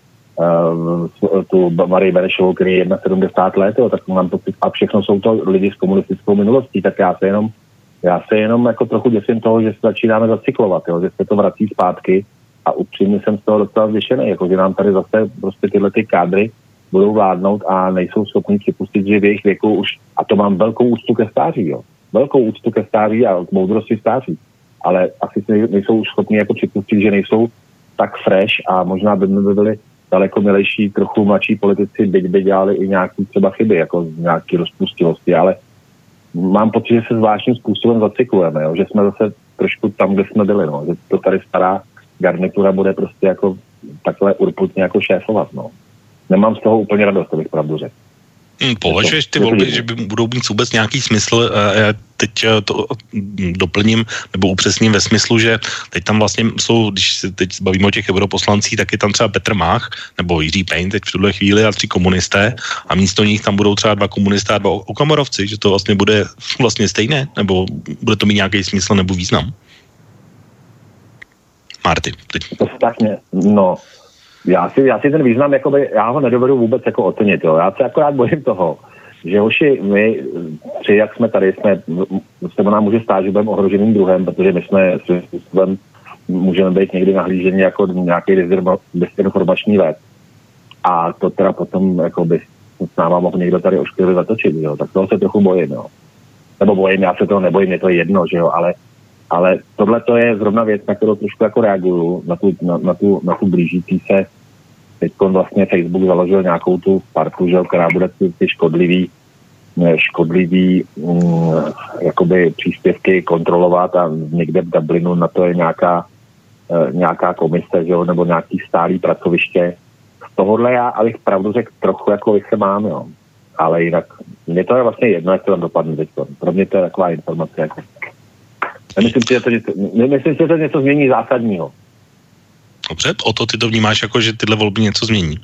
uh, tu Marii Benešovou, který je sedmdesát jedna let, jo, tak mám pocit, a všechno jsou to lidi s komunistickou minulostí, tak já se jenom, já se jenom jako trochu děsím toho, že se začínáme zacyklovat, jo, že se to vrací zpátky a upřímně jsem z toho docela zděšený, jako že nám tady zase prostě tyhle ty kádry budou vládnout a nejsou schopni připustit, že v jejich věku už, a to mám velkou úctu ke stáří, jo, velkou úctu ke stáří a k moudrosti stáří, ale asi nejsou už schopni jako připustit, že nejsou tak fresh a možná by by byli daleko milejší, trochu mladší politici, byť by dělali i nějaký třeba chyby, jako nějaký rozpustilosti, ale mám pocit, že se zvláštním způsobem zacyklujeme, jo? Že jsme zase trošku tam, kde jsme byli, no? Že to tady stará garnitura bude prostě jako takhle urputně jako šéfovat, no. Nemám z toho úplně radost, to bych pravdu řekl. Hmm, považuješ ty volby, že by budou mít vůbec nějaký smysl? Já teď to doplním nebo upřesním ve smyslu, že teď tam vlastně jsou, když se teď bavíme o těch europoslancích, tak je tam třeba Petr Mach nebo Jiří Pejn teď v tuhle chvíli a tři komunisté a místo nich tam budou třeba dva komunisté a dva okamorovci, že to vlastně bude vlastně stejné, nebo bude to mít nějaký smysl nebo význam? Marty, teď. To státně, no. Já si, já si ten význam, jakoby, já ho nedovedu vůbec jako ocenit, jo. Já se akorát bojím toho, že hoši, my tři, jak jsme tady, jsme, se nám může stát, že budeme ohroženým druhem, protože my jsme svým způsobem můžeme být někdy nahlíženi jako nějaký dezinformační let. A to teda potom jako by s náma mohl někdo tady ošklivě zatočit, jo. Tak toho se trochu bojím, jo. Nebo bojím, já se toho nebojím, je to jedno, že jo, ale, ale tohle to je zrovna věc, na kterou trošku jako reaguju, na tu, na, na tu, na tu blížící se. Teď vlastně Facebook založil nějakou tu partu, že jo, která bude ty, ty škodlivý, škodlivý mm, jakoby příspěvky kontrolovat a někde v Dublinu na to je nějaká, e, nějaká komise, že jo, nebo nějaký stálý pracoviště. Z tohohle já, abych pravdu řekl, trochu jako se mám, jo. Ale jinak, mně to je vlastně jedno, jak to tam dopadne teď. Pro mě to je taková informace. Jako. Nemyslím si, že to něco, nemyslím si, že to něco změní zásadního. Dobře, o to ty to vnímáš jako, že tyhle volby něco změní?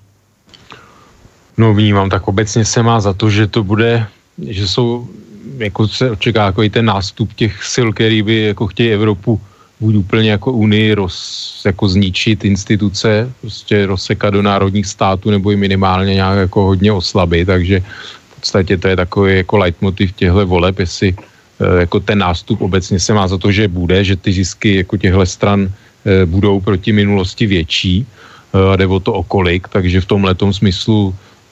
No vnímám, tak obecně se má za to, že to bude, že jsou, jako se očeká jako i ten nástup těch sil, který by jako chtějí Evropu buď úplně jako unii roz, jako zničit instituce, prostě rozsekat do národních států nebo i minimálně nějak jako hodně oslabit, takže v podstatě to je takový jako leitmotiv těchto voleb, jestli jako ten nástup obecně se má za to, že bude, že ty zisky jako těchto stran budou proti minulosti větší a jde o to o kolik, takže v tomhletom smyslu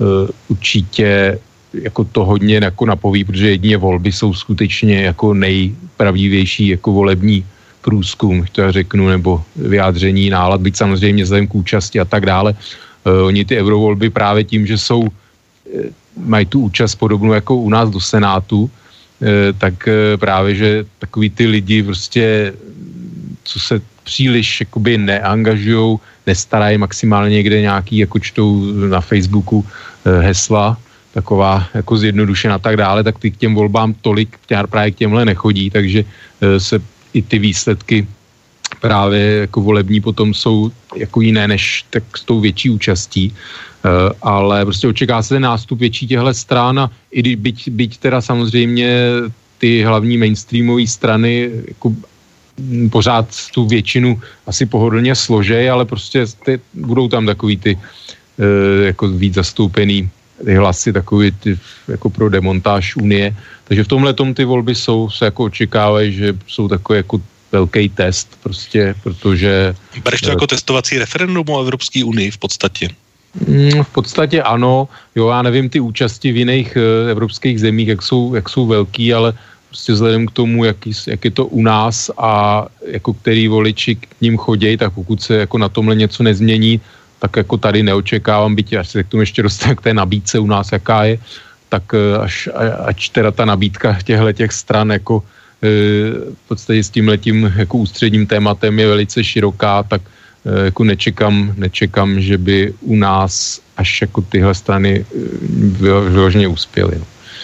určitě jako to hodně jako napoví, protože jedině volby jsou skutečně jako nejpravdivější jako volební průzkum, to já řeknu, nebo vyjádření nálad, byť samozřejmě vzhledem k účasti a tak dále. Uh, oni ty eurovolby právě tím, že jsou, uh, mají tu účast podobnou jako u nás do Senátu, uh, tak uh, právě, že takový ty lidi prostě, co se příliš jakoby neangažujou, nestarají maximálně někde nějaký, jako čtou na Facebooku uh, hesla, taková jako zjednodušená a tak dále, tak ty k těm volbám tolik právě k těmhle nechodí, takže uh, se i ty výsledky právě jako volební potom jsou jako jiné než tak s tou větší účastí, uh, ale prostě očeká se ten nástup větší těchto stran a i když byť, byť teda samozřejmě ty hlavní mainstreamové strany jako pořád tu většinu asi pohodlně složej, ale prostě ty, budou tam takový ty uh, jako víc zastoupený ty hlasy takový ty, jako pro demontáž Unie. Takže v tomhle tom ty volby jsou, se jako očekávají, že jsou takový jako velký test prostě, protože... Bereš to jako testovací referendum o Evropské unii v podstatě? V podstatě ano. Jo, já nevím ty účasti v jiných uh, evropských zemích, jak jsou, jak jsou velký, ale prostě vzhledem k tomu, jak, jak je to u nás a jako který voliči k ním chodějí, tak pokud se jako na tomhle něco nezmění, tak jako tady neočekávám, byť až se k tomu ještě dostanu k té nabídce u nás, jaká je, tak až, až teda ta nabídka těchto těch stran jako v podstatě s tímhletím jako ústředním tématem je velice široká, tak jako nečekám, nečekám, že by u nás až jako tyhle strany vyloženě uspěly.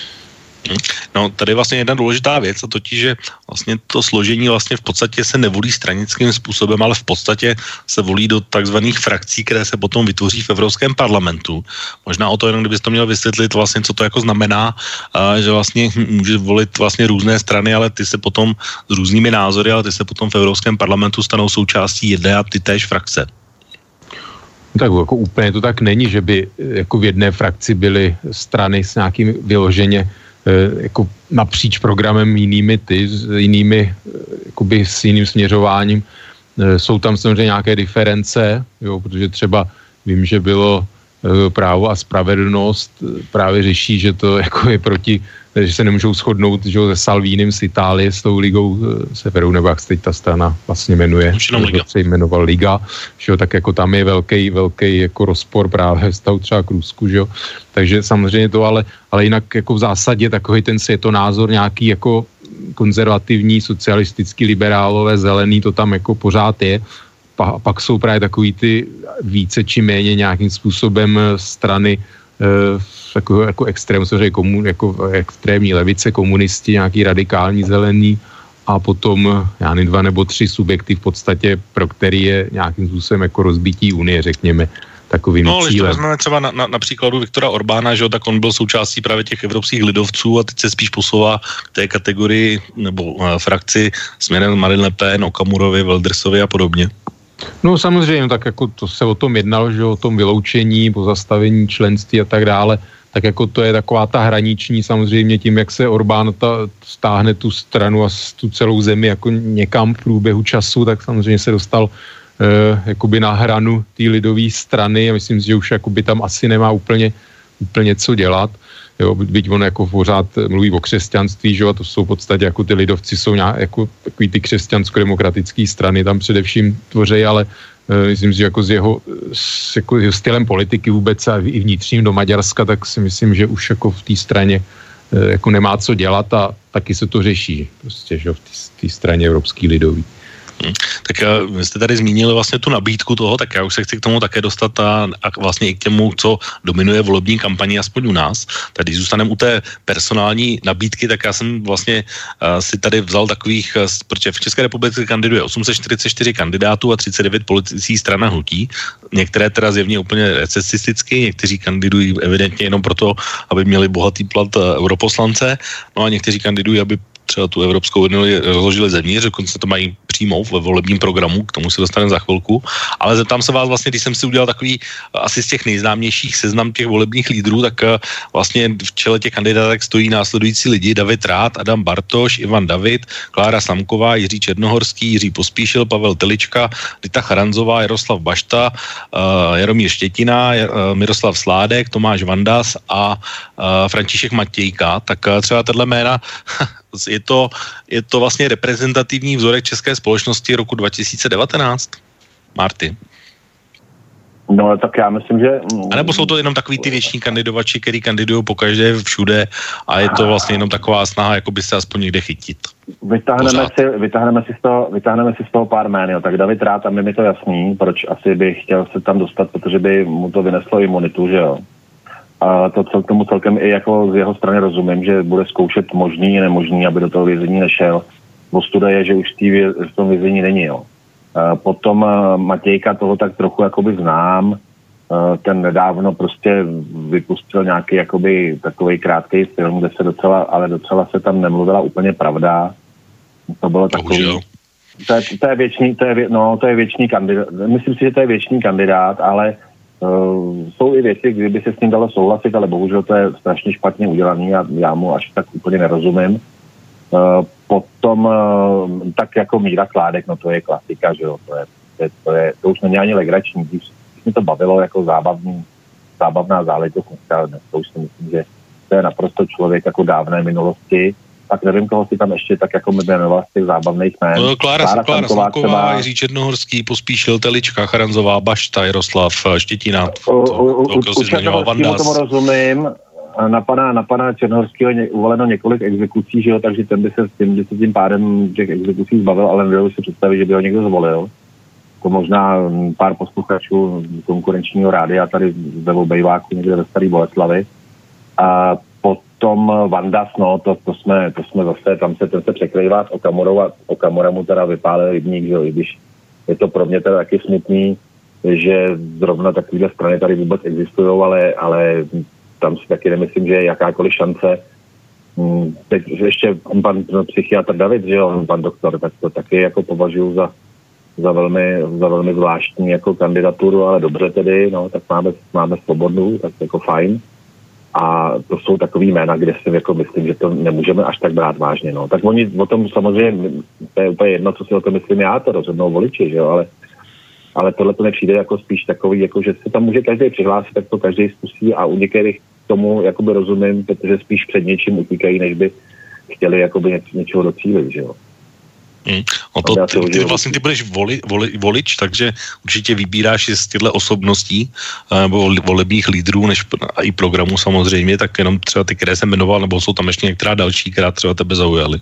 No, tady je vlastně jedna důležitá věc, a totiž, že vlastně to složení vlastně v podstatě se nevolí stranickým způsobem, ale v podstatě se volí do takzvaných frakcí, které se potom vytvoří v Evropském parlamentu. Možná o to jenom, kdybys to měl vysvětlit vlastně, co to jako znamená, a že vlastně může volit vlastně různé strany, ale ty se potom s různými názory, ale ty se potom v Evropském parlamentu stanou součástí jedné a ty též frakce. Tak jako úplně to tak není, že by jako v jedné frakci byly strany s nějakým vyloženě jako napříč programem jinými ty, s jinými, jakoby s jiným směřováním. Jsou tam samozřejmě nějaké diference, jo, protože třeba vím, že bylo Právo a spravedlnost právě řeší, že to jako je proti, že se nemůžou shodnout, že se Salvínem z Itálie, s tou ligou Severu, nebo jak se teď ta strana vlastně jmenuje, Liga. se jmenoval Liga, že jo, tak jako tam je velký, velký jako rozpor právě vztahu třeba k Rusku, že jo, takže samozřejmě to, ale, ale jinak jako v zásadě takový ten světonázor nějaký jako konzervativní, socialistický, liberálové, zelený, to tam jako pořád je. A pak jsou právě takový ty více či méně nějakým způsobem strany e, jako, jako extrém, komun, jako extrémní levice, komunisti, nějaký radikální zelený a potom já nevím, dva nebo tři subjekty v podstatě, pro který je nějakým způsobem jako rozbití Unie, řekněme, takovým no, cílem. No, ale třeba na, na, na příkladu Viktora Orbána, že jo, tak on byl součástí právě těch evropských lidovců a teď se spíš posouvá k té kategorii nebo uh, frakci směrem Marine Le Pen, Okamurovi, Wildersovi a podobně. No samozřejmě, tak jako to se o tom jednalo, že o tom vyloučení, pozastavení členství a tak dále, tak jako to je taková ta hraniční samozřejmě tím, jak se Orbán ta, stáhne tu stranu a tu celou zemi jako někam v průběhu času, tak samozřejmě se dostal eh, jakoby na hranu té lidové strany a myslím si, že už jakoby tam asi nemá úplně, úplně co dělat. Jo, byť on jako pořád mluví o křesťanství, že jo, a to jsou v podstatě jako ty lidovci jsou nějak, jako takový ty křesťansko-demokratické strany tam především tvoří, ale uh, myslím si, že jako s jeho, s jako jeho stylem politiky vůbec a i vnitřním do Maďarska, tak si myslím, že už jako v té straně uh, jako nemá co dělat a taky se to řeší, prostě, že jo, v té straně Evropský lidový. Hmm. Tak vy jste tady zmínili vlastně tu nabídku toho, tak já už se chci k tomu také dostat a, a vlastně i k těmu, co dominuje volební kampani, aspoň u nás. Tady zůstaneme u té personální nabídky, tak já jsem vlastně uh, si tady vzal takových, uh, protože v České republice kandiduje osm set čtyřicet čtyři kandidátů a třicet devět politických stran a hnutí. Některé teda zjevně úplně recesisticky, někteří kandidují evidentně jenom proto, aby měli bohatý plat uh, europoslance, no a někteří kandidují, aby třeba tu Evropskou unii rozložili zevnitř, dokonce to mají přímo ve volebním programu, k tomu se dostaneme za chvilku, ale zeptám se vás vlastně, když jsem si udělal takový asi z těch nejznámějších seznam těch volebních lídrů, tak vlastně v čele těch kandidátek stojí následující lidi: David Rath, Adam Bartoš, Ivan David, Klára Samková, Jiří Černohorský, Jiří Pospíšil, Pavel Telička, Rita Charanzová, Jaroslav Bašta, Jaromír Štětina, Miroslav Sládek, Tomáš Vandas a František Matějka. Tak třeba tato jména Je to, je to vlastně reprezentativní vzorek české společnosti roku dva tisíce devatenáct? Marty? No, tak já myslím, že... A nebo jsou to jenom takový ty věční kandidovači, který kandidují pokaždé všude a je to vlastně jenom taková snaha, jako by se aspoň někde chytit? Vytáhneme si, vytáhneme, si z toho, vytáhneme si z toho pár jmén, jo. Tak David Rath, tam je mi to jasný, proč asi by chtěl se tam dostat, protože by mu to vyneslo imunitu, že jo. A to cel, tomu celkem i jako z jeho strany rozumím, že bude zkoušet možný i nemožný, aby do toho vězení nešel. Ostuda je, že už v tom vězení není, jo. A potom Matějka, toho tak trochu jakoby znám, ten nedávno prostě vypustil nějaký jakoby takovej krátký film, kde se docela, ale docela se tam nemluvila úplně pravda. To bylo takový... To je, to je věčný, to je, no, to je věčný kandidát. Myslím si, že to je věčný kandidát, ale Uh, jsou i věci, kdyby se s ním dalo souhlasit, ale bohužel to je strašně špatně udělaný a já mu až tak úplně nerozumím. Uh, potom uh, tak jako Míra Kládek, no to je klasika, že jo, to je, to, je, to, je, to už není ani legrační, když mi to bavilo jako zábavný, zábavná záležitost, to už si myslím, že to je naprosto člověk jako dávné minulosti. Tak nevím, koho si tam ještě tak jako jmenoval z těch zábavných jmén. No, Klára, Klára, Klára Samková, třeba... Jiří Černohorský, Pospíšil, Telička, Charanzová, Bašta, Jaroslav Štětina. U, u, u, u Černohorského tomu rozumím. Na pana, na pana Černohorského je uvaleno několik exekucí, že jo, takže ten by se s tím, by se tím pádem těch exekucí zbavil, ale nedovedu si představit, že by ho někdo zvolil. To možná pár posluchačů konkurenčního rádia tady ve obejváku někde ve Starý Boleslavi. A potom Vandas, no, to, to, jsme, to jsme zase, tam se ten se překrývá s Okamurou a Okamura mu teda vypálil rybník, že jo, i když je to pro mě teda taky smutný, že zrovna takovýhle strany tady vůbec existují, ale, ale tam si taky nemyslím, že je jakákoliv šance. Teď ještě pan psychiatr David, že jo, pan doktor, tak to taky jako považuji za, za, velmi, za velmi zvláštní jako kandidaturu, ale dobře tedy, no, tak máme, máme svobodu, tak jako fajn. A to jsou takový jména, kde si jako myslím, že to nemůžeme až tak brát vážně. No. Tak oni o tom samozřejmě, to je úplně jedno, co si o tom myslím já, to rozhodnou voliči, že jo, ale, ale tohle to nepřijde jako spíš takový, jako že se tam může každý přihlásit, tak to každý zkusí a u některých tomu jakoby rozumím, protože spíš před něčím utíkají, než by chtěli jakoby něč, něčeho docílit, že jo. Hmm. No to, ty, ty vlastně ty budeš voli, voli, volič, takže určitě vybíráš z těchto osobností nebo volebních lídrů, než i programů samozřejmě, tak jenom třeba ty, které jsem jmenoval, nebo jsou tam ještě některá další, která třeba tebe zaujaly.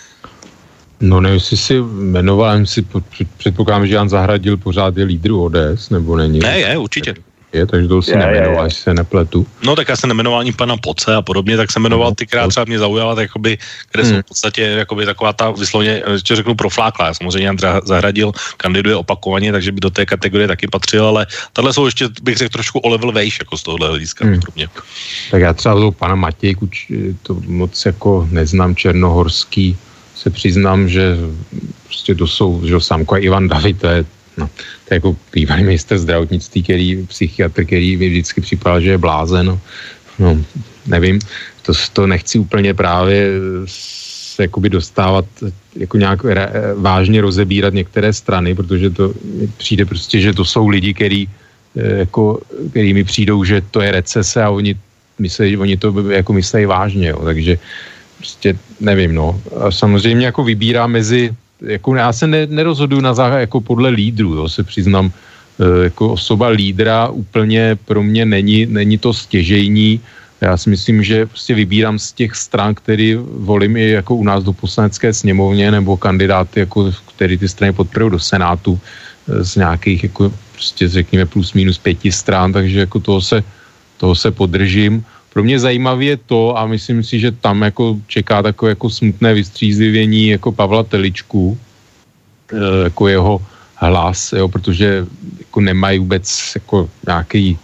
No nevím, jestli si jmenoval, si předpokládám, že Jan Zahradil pořád je lídru O D S, nebo není? Ne, je, určitě. Je, takže to si je, nemenoval, je, je. se nepletu. No tak já jsem nemenoval ani pana Poce a podobně, tak jsem jmenoval ty, která třeba mě zaujala, tak jakoby, které hmm. jsou v podstatě jakoby taková ta vyslovně, že řeknu profláklá. Samozřejmě Jan Zahradil kandiduje opakovaně, takže by do té kategorie taky patřil, ale tahle jsou ještě, bych řekl, trošku o level vejš, jako z tohohle hlediska. Hmm. Tak já třeba toho pana Matějku, to moc jako neznám, Černohorský, se přiznám, že prostě to jsou, že Samko a Ivan David, to je No, to je jako bývalý ministr zdravotnictví, který, psychiatr, který mi vždycky připadal, že je blázen. no, nevím, to, to nechci úplně právě se jakoby dostávat, jako nějak re, vážně rozebírat některé strany, protože to přijde prostě, že to jsou lidi, který, jako, který mi přijdou, že to je recese a oni, myslí, oni to jako myslejí vážně, jo, takže prostě nevím, no. A samozřejmě jako vybírá mezi, jako já se ne, nerozhoduju na základ jako podle lídrů, jo, se přiznám, jako osoba lídra úplně pro mě není, není to stěžejní. Já si myslím, že prostě vybírám z těch stran, který volím i jako u nás do poslanecké sněmovně, nebo kandidáty, jako, který ty strany podporují do Senátu z nějakých, jako prostě řekněme plus minus pěti stran, takže jako toho se, toho se podržím. Pro mě zajímavé je to, a myslím si, že tam jako čeká takové jako smutné vystřízlivění jako Pavla Teličku, jako jeho hlas, jo, protože jako nemají vůbec jako nějaký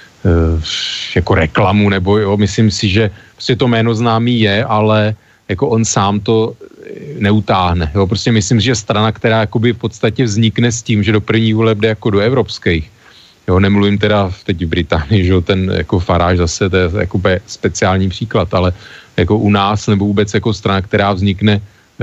jako reklamu, nebo jo, myslím si, že prostě to jméno známý je, ale jako on sám to neutáhne. Jo, prostě myslím si, že strana, která jakoby v podstatě vznikne s tím, že do první voleb jde jako do evropských. Jo, nemluvím teda teď v Británii, že ten jako Farage zase, to je jako speciální příklad, ale jako u nás, nebo vůbec jako strana, která vznikne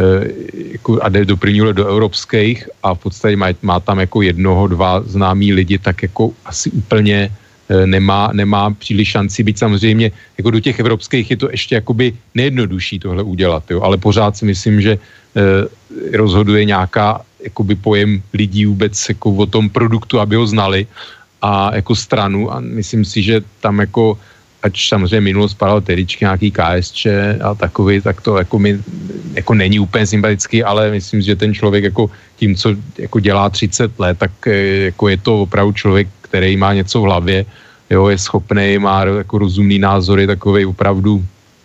jako a jde do první voleb do evropských a v podstatě má, má tam jako jednoho, dva známí lidi, tak jako asi úplně nemá, nemá příliš šanci, byť samozřejmě jako do těch evropských je to ještě jakoby nejjednodušší tohle udělat, jo, ale pořád si myslím, že eh, rozhoduje nějaká jakoby pojem lidí vůbec jako o tom produktu, aby ho znali a jako stranu a myslím si, že tam jako ať samozřejmě minulost padal Teličky, nějaký K S Č a takový, tak to jako mi jako není úplně sympatický, ale myslím, že ten člověk jako tím, co jako dělá třicet let, tak jako je to opravdu člověk, který má něco v hlavě, jo, je schopný, má jako rozumný názory, takovej opravdu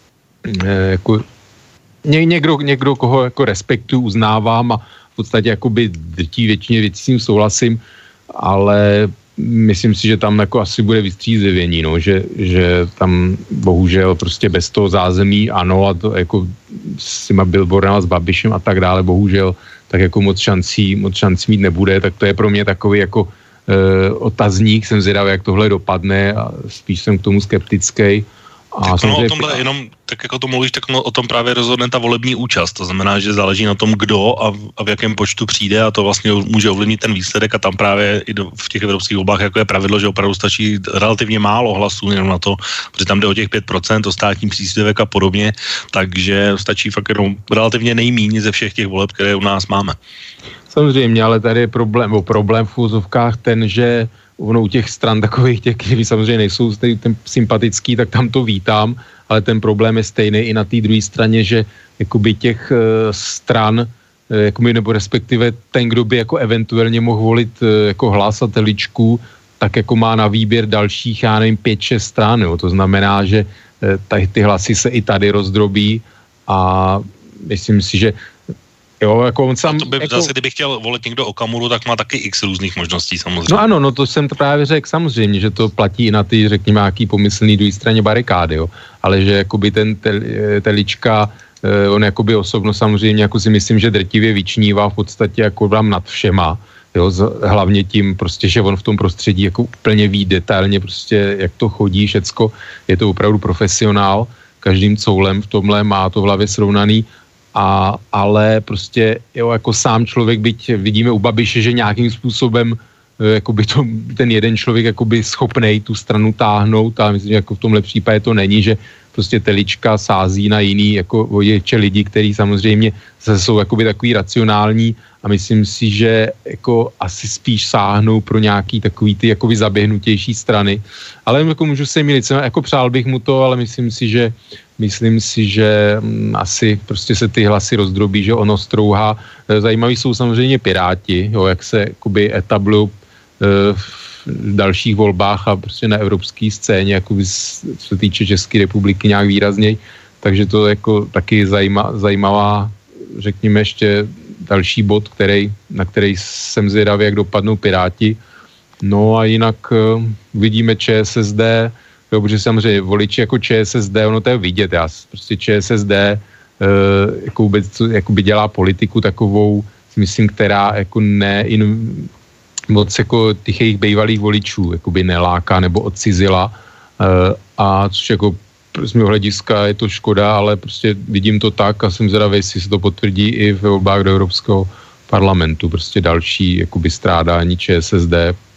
jako ně, někdo, někdo, koho jako respektuju, uznávám a v podstatě jakoby drtí většině věcí s tím souhlasím, ale myslím si, že tam jako asi bude vystřízlivění, no, že, že tam bohužel prostě bez toho zázemí, ano, a to jako s těma billboardama s Babišem a tak dále, bohužel, tak jako moc šancí, moc šancí mít nebude, tak to je pro mě takový jako e, otazník, jsem zvědavý, jak tohle dopadne a spíš jsem k tomu skeptický. A tak ono o tomhle jenom, tak jako to mluvíš, tak no, o tom právě rozhodne ta volební účast. To znamená, že záleží na tom, kdo a v, a v jakém počtu přijde a to vlastně může ovlivnit ten výsledek a tam právě i do, v těch evropských volbách jako je pravidlo, že opravdu stačí relativně málo hlasů jenom na to, protože tam jde o těch pět procent, o státní příspěvek a podobně, takže stačí fakt jenom relativně nejméně ze všech těch voleb, které u nás máme. Samozřejmě, ale tady je problém, o problém v úzovkách ten, že ono u těch stran takových, těch, kteří samozřejmě nejsou ten sympatický, tak tam to vítám, ale ten problém je stejný i na té druhé straně, že jakoby těch uh, stran, uh, jakoby, nebo respektive ten, kdo by jako eventuálně mohl volit uh, jako Hlas a Teličku, tak jako má na výběr dalších, já nevím, pět, šest stran, jo. To znamená, že uh, tady ty hlasy se i tady rozdrobí a myslím si, že jo, jako on sám, to by jako, zase, kdyby chtěl volit někdo Okamuru, tak má taky x různých možností samozřejmě. No ano, no to jsem to právě řekl samozřejmě, že to platí i na ty, řekněme, nějaký pomyslný druhé straně barikády, jo. Ale že jakoby ten tel, Telička, on jakoby osobno samozřejmě, jako si myslím, že drtivě vyčnívá v podstatě jako vám nad všema, jo, hlavně tím prostě, že on v tom prostředí jako úplně ví detailně prostě, jak to chodí, všecko, je to opravdu profesionál, každým coulem v tomhle má to v hlavě srovnaný. A, ale prostě jo, jako sám člověk, byť vidíme u Babiše, že nějakým způsobem jakoby to, ten jeden člověk jakoby schopnej tu stranu táhnout a myslím, že jako v tomhle případě to není, že prostě Telička sází na jiný jako voděče lidi, kteří samozřejmě zase jsou jakoby takový racionální a myslím si, že jako asi spíš sáhnou pro nějaký takový ty jakoby zaběhnutější strany. Ale jako můžu se mýlit, jako přál bych mu to, ale myslím si, že myslím si, že m, asi prostě se ty hlasy rozdrobí, že ono strouhá. Zajímaví jsou samozřejmě Piráti, jo, jak se jakoby etablují e, v dalších volbách a prostě na evropské scéně, jakoby co se týče České republiky nějak výrazněji. Takže to jako taky zajíma, zajímavá, řekněme ještě další bod, který, na který jsem zvědavý, jak dopadnou Piráti. No a jinak uh, vidíme ČSSD, jo, protože samozřejmě voliči jako ČSSD, ono to je vidět, já prostě ČSSD uh, jako vůbec jakoby dělá politiku takovou, myslím, která jako ne in, moc jako těch jejich bývalých voličů jakoby neláká nebo odcizila a což jako z mého hlediska je to škoda, ale prostě vidím to tak a jsem zvědavý, jestli se to potvrdí i ve volbách do Evropského parlamentu. Prostě další jakoby strádání ČSSD.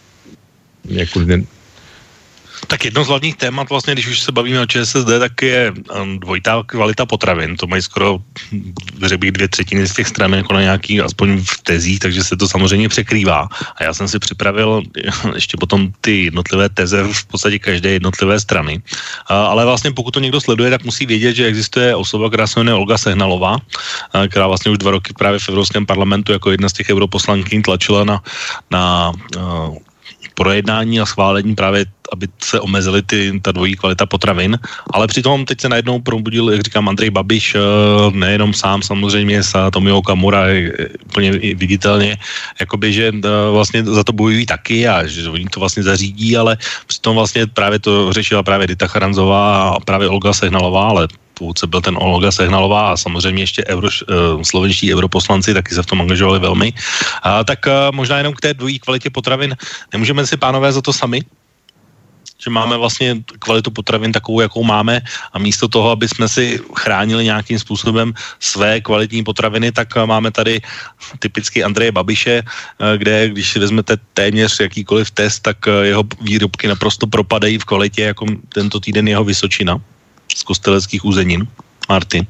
Jako den... Tak jedno z hlavních témat vlastně, když už se bavíme o ČSSD, tak je dvojitá kvalita potravin. To mají skoro, řekl bych, dvě třetiny z těch stran jako na nějaký, aspoň v tezích, takže se to samozřejmě překrývá. A já jsem si připravil ještě potom ty jednotlivé teze v podstatě každé jednotlivé strany. Ale vlastně pokud to někdo sleduje, tak musí vědět, že existuje osoba, která se jmenuje Olga Sehnalová, která vlastně už dva roky právě v Evropském parlamentu jako jedna z těch europoslankyň tlačila na, na projednání a schválení právě, aby se omezily ty, ta dvojí kvalita potravin, ale přitom teď se najednou probudil, jak říkám, Andrej Babiš, nejenom sám samozřejmě, s Tomio Okamura úplně viditelně, jakoby, že vlastně za to bojují taky a že oni to vlastně zařídí, ale přitom vlastně právě to řešila právě Dita Charanzová a právě Olga Sehnalová, ale původce byl ten Olga Sehnalová a samozřejmě ještě euro, slovenští europoslanci taky se v tom angažovali velmi. A, tak a, možná jenom k té dvojí kvalitě potravin. Nemůžeme si, pánové, za to sami? Že máme vlastně kvalitu potravin takovou, jakou máme a místo toho, aby jsme si chránili nějakým způsobem své kvalitní potraviny, tak máme tady typicky Andreje Babiše, kde když si vezmete téměř jakýkoliv test, tak jeho výrobky naprosto propadají v kvalitě, jako tento týden jeho Vysočina z kosteleckých uzenin. Martin.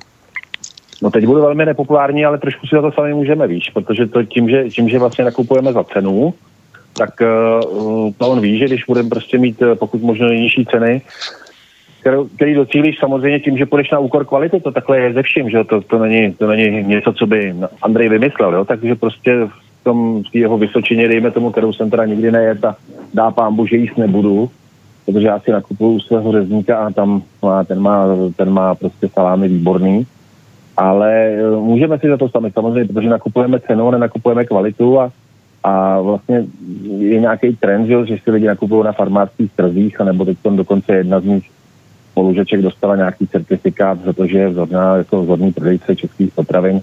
No teď budu velmi nepopulární, ale trošku si za to sami můžeme, víš, protože to tím, že, tím, že vlastně nakupujeme za cenu, tak uh, to on ví, že když budeme prostě mít pokud možno nejnižší ceny, kterou, který docílíš samozřejmě tím, že půjdeš na úkor kvality, to takhle je ze vším, že to, to, není, to není něco, co by Andrej vymyslel, jo? Takže prostě v tom v jeho Vysočině, dejme tomu, kterou jsem teda nikdy nejet a dá pánbu, že jíst nebudu, protože já si nakupuju u svého řezníka a tam má, ten, má, ten má prostě salámy výborný, ale můžeme si za to sami samozřejmě, protože nakupujeme cenu, nenakupujeme kvalitu a A vlastně je nějaký trend, že si lidi nakupují na farmářských trzích, anebo teď dokonce jedna z nich spolužeček dostala nějaký certifikát za to, že je vzorná, jako vzorný prodejce českých potravin.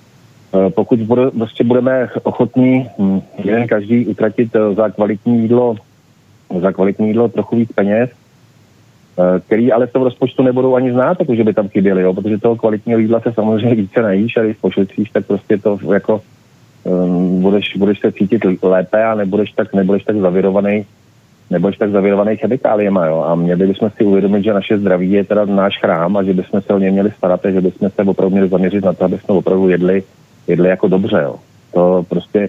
Pokud bude, prostě budeme ochotní jeden každý utratit za kvalitní jídlo, za kvalitní jídlo trochu víc peněz, který ale v tom rozpočtu nebudou ani znát, protože by tam chyběly, jo? Protože toho kvalitního jídla se samozřejmě více najíš a když pošetříš, tak prostě to jako Um, budeš, budeš se cítit lépe a nebudeš tak, nebudeš tak zavirovaný, nebudeš tak zavirovaný chemikáliema, jo. A měli bychom si uvědomit, že naše zdraví je teda náš chrám a že bychom se o něj měli starat a že bychom se opravdu měli zaměřit na to, aby jsme opravdu jedli, jedli jako dobře, jo. To prostě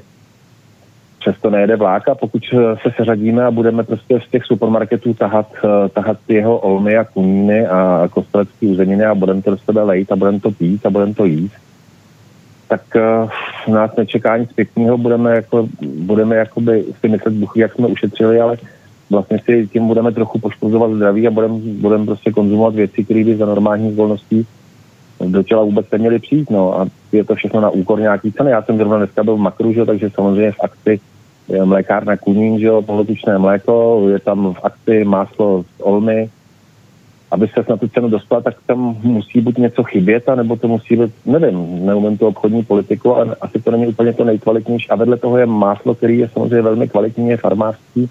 přesto nejede vlák a pokud se seřadíme a budeme prostě z těch supermarketů tahat, tahat jeho olmy a kuníny a kostelecké uzeniny a budeme to do sebe lejt a budeme to pít a budeme to jíst, tak uh, nás nečeká nic pěkného, budeme, jako, budeme jakoby si myslet buchy, jak jsme ušetřili, ale vlastně si tím budeme trochu poškozovat zdraví a budeme budem prostě konzumovat věci, které by za normálních okolností do těla vůbec neměly přijít, no a je to všechno na úkor nějaký ceny. Já jsem zrovna dneska byl v Makru, že, takže samozřejmě v akci je mlékárna Kunín, že jo, polotučné mléko, je tam v akci máslo z olmy. Aby se na tu cenu dostala, tak tam musí buď něco chybět, nebo to musí být, nevím, neumím tu obchodní politiku, ale asi to není úplně to nejkvalitnější. A vedle toho je máslo, který je samozřejmě velmi kvalitní, je farmářský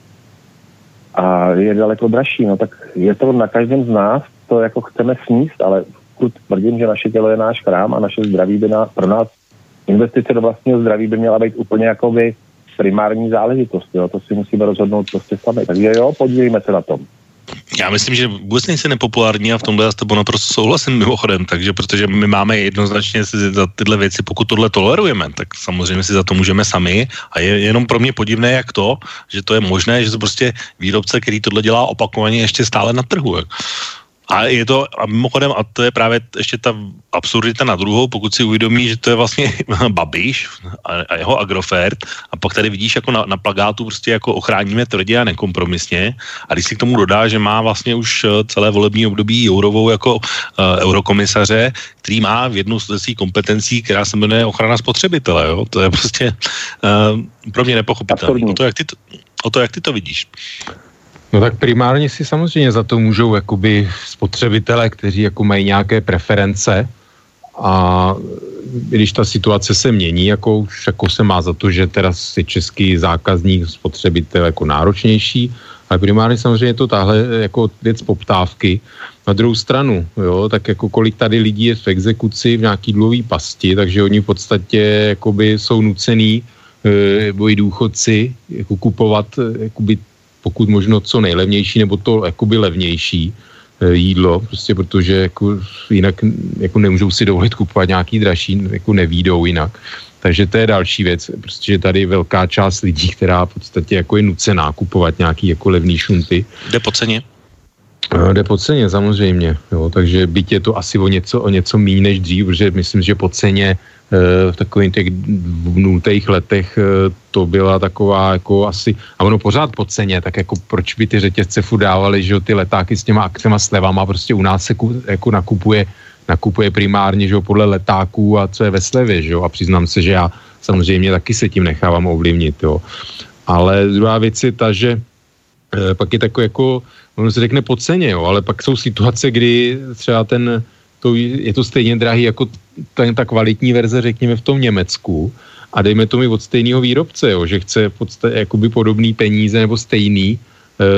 a je daleko dražší. No tak je to na každém z nás, to jako chceme sníst, ale pokud tvrdím, že naše tělo je náš chrám a naše zdraví by na, pro nás investice do vlastního zdraví by měla být úplně jakoby primární záležitost. Jo? To si musíme rozhodnout prostě sami. Takže jo, podílíme se na tom. Já myslím, že vůbec nejsi nepopulární a v tomhle já s tebou naprosto souhlasím mimochodem, takže protože my máme jednoznačně si za tyhle věci, pokud tohle tolerujeme, tak samozřejmě si za to můžeme sami a je jenom pro mě podivné jak to, že to je možné, že to prostě výrobce, který tohle dělá opakovaně ještě stále na trhu. A je to, a mimochodem, a to je právě ještě ta absurdita na druhou, pokud si uvědomí, že to je vlastně Babiš a, a jeho Agrofert a pak tady vidíš jako na, na plagátu prostě jako ochráníme tvrdě a nekompromisně a když si k tomu dodá, že má vlastně už celé volební období Jourovou jako uh, eurokomisaře, který má v jednu z svých kompetencí, která se jmenuje ochrana spotřebitele, jo? To je prostě uh, pro mě nepochopitelné. O to, jak ty to, o to, jak ty to vidíš. No tak primárně si samozřejmě za to můžou jakoby spotřebitelé, kteří jako mají nějaké preference a když ta situace se mění, jako už jako se má za to, že teda si český zákazník, spotřebitel jako náročnější Ale primárně samozřejmě je to tahle jako věc poptávky. Na druhou stranu, jo, tak jako kolik tady lidí je v exekuci v nějaký dluhový pasti, takže oni v podstatě jakoby jsou nucený nebo i důchodci jako kupovat jakoby, pokud možno co nejlevnější nebo to jakoby levnější jídlo, prostě protože jako jinak jako nemůžou si dovolit kupovat nějaký dražší, jako nevídou jinak. Takže to je další věc, protože tady je velká část lidí, která v podstatě jako je nucená kupovat nějaký jako levný šunty. Jde po ceně? Jde po ceně, samozřejmě. Jo, takže byť je to asi o něco, o něco méně než dřív, protože myslím, že po ceně v takových těch nultých letech to byla taková jako asi, a ono pořád po ceně, tak jako proč by ty řetězce furt dávali, že jo, ty letáky s těma akcema slevama, prostě u nás se ku, jako nakupuje, nakupuje primárně, že jo, podle letáků a co je ve slevě, že jo, a přiznám se, že já samozřejmě taky se tím nechávám ovlivnit, jo. Ale druhá věc je ta, že e, pak je takový jako, ono se řekne po ceně, jo, ale pak jsou situace, kdy třeba ten to je to stejně drahý jako ta, ta kvalitní verze, řekněme, v tom Německu a dejme to mi od stejného výrobce, jo, že chce podstatě jakoby podobný peníze nebo stejný e,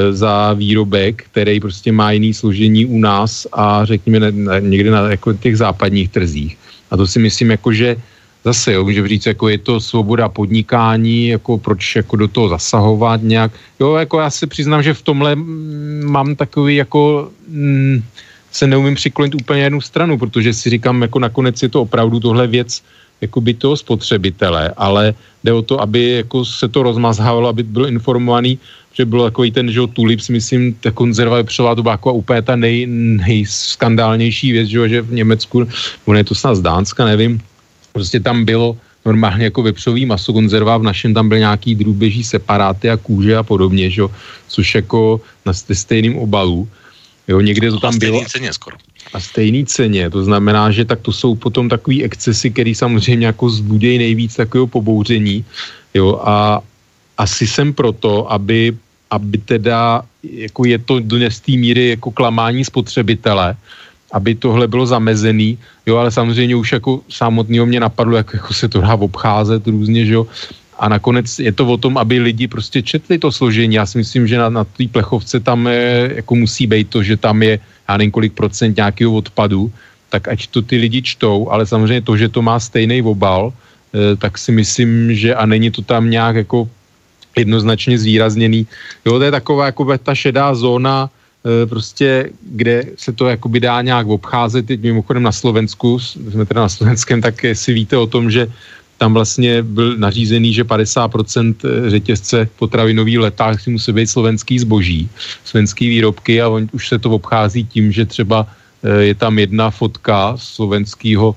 za výrobek, který prostě má jiný složení u nás a řekněme na, na, někde na jako těch západních trzích. A to si myslím, jako, že zase, jo, můžeme říct, jako je to svoboda podnikání, jako proč jako do toho zasahovat nějak. Jo, jako já se přiznám, že v tomhle mám takový jako... Mm, se neumím přiklonit úplně jednu stranu, protože si říkám, jako nakonec je to opravdu tohle věc jako by toho spotřebitele, ale jde o to, aby jako se to rozmazhávalo, aby byl informovaný, že byl takový ten, že tulips, myslím, ta konzerva vepřová, to byla jako úplně ta nej, nejskandálnější věc, že, že v Německu, ono je to snad z Dánska, nevím, prostě tam bylo normálně jako vepřový maso, konzerva, v našem tam byl nějaký drůbeží separáty a kůže a podobně, že, což jako na stejném obalu. Jo, někde to tam a bylo. A ceně skoro. A stejný ceně, to znamená, že tak to jsou potom takový excesy, který samozřejmě jako zbudějí nejvíc takového pobouření, jo, a asi jsem proto, aby, aby teda, jako je to do té míry jako klamání spotřebitele, aby tohle bylo zamezený, jo, ale samozřejmě už jako samotného mě napadlo, jak jako se to dá obcházet různě, že jo, a nakonec je to o tom, aby lidi prostě četli to složení. Já si myslím, že na, na té plechovce tam je, jako musí být to, že tam je, já nevím kolik procent nějakého odpadu, tak ať to ty lidi čtou, ale samozřejmě to, že to má stejný obal, eh, tak si myslím, že a není to tam nějak jako jednoznačně zvýrazněný. Jo, to je taková jako ta šedá zóna, eh, prostě, kde se to jakoby dá nějak obcházet. Teď mimochodem na Slovensku, jsme teda na Slovenském, tak si víte o tom, že tam vlastně byl nařízený, že padesát procent řetězce potravinový leták si musí být slovenský zboží, slovenský výrobky a on, už se to obchází tím, že třeba je tam jedna fotka slovenského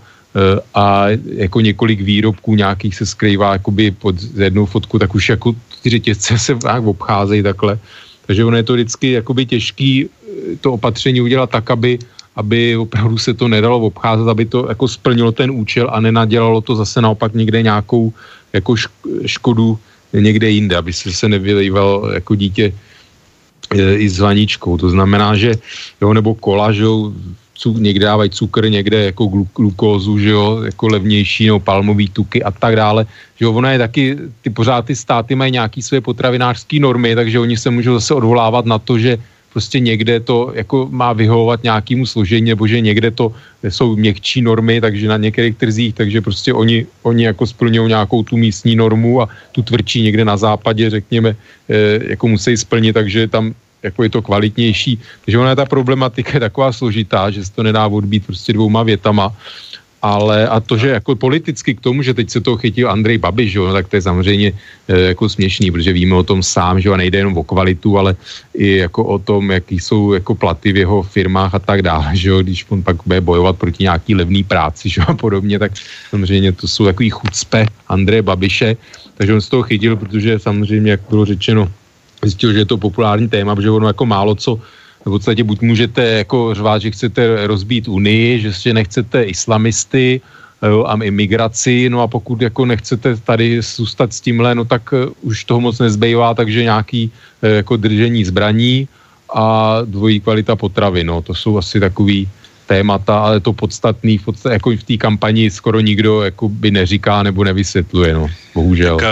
a jako několik výrobků nějakých se skrývá jakoby pod jednou fotku, tak už jako ty řetězce se nějak obcházejí takhle. Takže ono je to vždycky jakoby těžký to opatření udělat tak, aby aby opravdu se to nedalo obcházet, aby to jako splnilo ten účel a nenadělalo to zase naopak někde nějakou jako škodu někde jinde, aby se se nevylejval jako dítě i s vaničkou. To znamená, že jo, nebo kola, že jo, někde dávají cukr, někde jako glukózu, že jo, jako levnější, nebo palmový tuky a tak dále. Že jo, ono je taky, ty pořád ty státy mají nějaký své potravinářské normy, takže oni se můžou zase odvolávat na to, že prostě někde to jako má vyhovovat nějakému složení, nebo že někde to jsou měkčí normy, takže na některých trzích, takže prostě oni, oni jako splňují nějakou tu místní normu a tu tvrdší někde na západě, řekněme, jako musí splnit, takže tam jako je to kvalitnější. Takže ona ta problematika je taková složitá, že se to nedá odbít prostě dvouma větama. Ale a to, že jako politicky k tomu, že teď se toho chytil Andrej Babiš, jo, no, tak to je samozřejmě e, jako směšný, protože víme o tom sám, že a nejde jenom o kvalitu, ale i jako o tom, jaký jsou jako platy v jeho firmách a tak dále, že jo, když on pak bude bojovat proti nějaký levný práci, že a podobně, tak samozřejmě to jsou takový chucpe Andreje Babiše, takže on se toho chytil, protože samozřejmě, jak bylo řečeno, zjistil, že je to populární téma, protože ono jako málo co v podstatě buď můžete jako řvát, že chcete rozbít Unii, že si nechcete islamisty jo, a imigraci, no a pokud jako nechcete tady zůstat s tímhle, no tak uh, už toho moc nezbývá, takže nějaký uh, jako držení zbraní a dvojí kvalita potravy, no to jsou asi takový témata, ale to podstatný, v podstatě, jako v té kampani skoro nikdo jako by neříká nebo nevysvětluje, no, bohužel. Tak,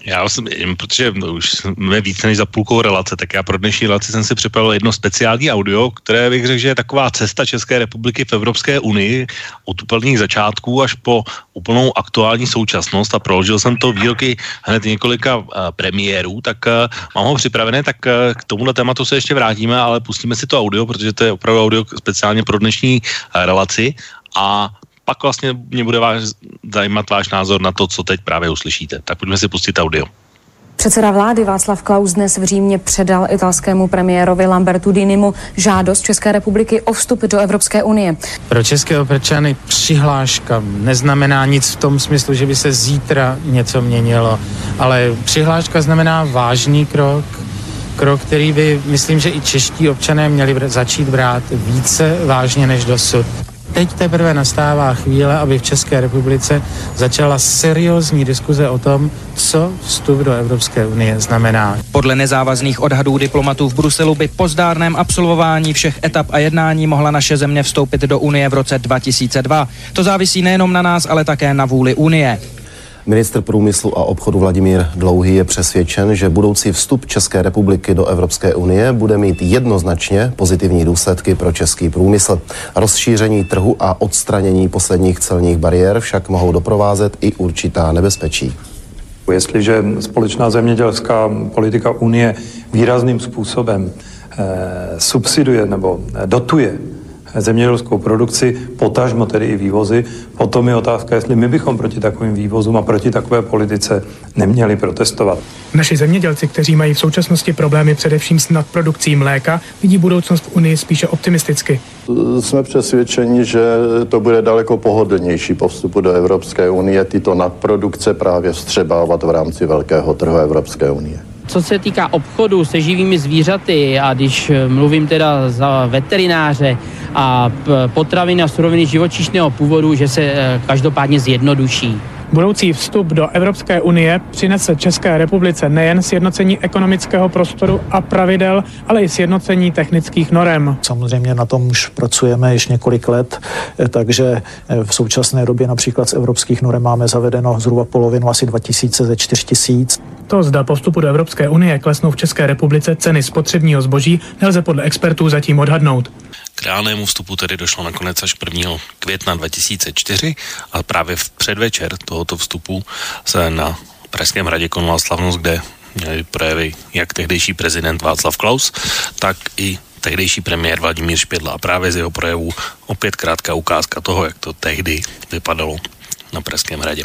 Já jsem, protože už jsme více než za půlkou relace, tak já pro dnešní relaci jsem si připravil jedno speciální audio, které bych řekl, že je taková cesta České republiky v Evropské unii od úplných začátků až po úplnou aktuální současnost a proložil jsem to výroky hned několika uh, premiérů, tak uh, mám ho připravené, tak uh, k tomuhle tématu se ještě vrátíme, ale pustíme si to audio, protože to je opravdu audio speciálně pro dnešní uh, relaci a pak vlastně mě bude váš, zajímat váš názor na to, co teď právě uslyšíte. Tak pojďme si pustit audio. Předseda vlády Václav Klaus dnes v Římě předal italskému premiérovi Lambertu Dinimu žádost České republiky o vstup do Evropské unie. Pro české občany přihláška neznamená nic v tom smyslu, že by se zítra něco měnilo, ale přihláška znamená vážný krok, krok, který by, myslím, že i čeští občané měli začít brát více vážně než dosud. Teď teprve nastává chvíle, aby v České republice začala seriózní diskuze o tom, co vstup do Evropské unie znamená. Podle nezávazných odhadů diplomatů v Bruselu by po zdárném absolvování všech etap a jednání mohla naše země vstoupit do Unie v roce dva tisíce dva. To závisí nejenom na nás, ale také na vůli Unie. Ministr průmyslu a obchodu Vladimír Dlouhý je přesvědčen, že budoucí vstup České republiky do Evropské unie bude mít jednoznačně pozitivní důsledky pro český průmysl. Rozšíření trhu a odstranění posledních celních bariér však mohou doprovázet i určitá nebezpečí. Jestliže společná zemědělská politika Unie výrazným způsobem eh, subsiduje nebo dotuje zemědělskou produkci, potažmo tedy i vývozy. Potom je otázka, jestli my bychom proti takovým vývozům a proti takové politice neměli protestovat. Naši zemědělci, kteří mají v současnosti problémy především s nadprodukcí mléka, vidí budoucnost v Unii spíše optimisticky. Jsme přesvědčeni, že to bude daleko pohodlnější po vstupu do Evropské unie tyto nadprodukce právě vstřebávat v rámci velkého trhu Evropské unie. Co se týká obchodu se živými zvířaty a když mluvím teda za veterináře a potraviny a suroviny živočišného původu, že se každopádně zjednoduší. Budoucí vstup do Evropské unie přinese České republice nejen sjednocení ekonomického prostoru a pravidel, ale i sjednocení technických norem. Samozřejmě na tom už pracujeme již několik let, takže v současné době například z evropských norem máme zavedeno zhruba polovinu, asi dva tisíce ze čtyř tisíc. To, zda po vstupu do Evropské unie klesnou v České republice ceny spotřebního zboží, nelze podle expertů zatím odhadnout. K reálnému vstupu tedy došlo nakonec až prvního května dva tisíce čtyři a právě v předvečer tohoto vstupu se na Pražském hradě konala slavnost, kde měli projevy jak tehdejší prezident Václav Klaus, tak i tehdejší premiér Vladimír Špidla. A právě z jeho projevu opět krátká ukázka toho, jak to tehdy vypadalo na Pražském hradě.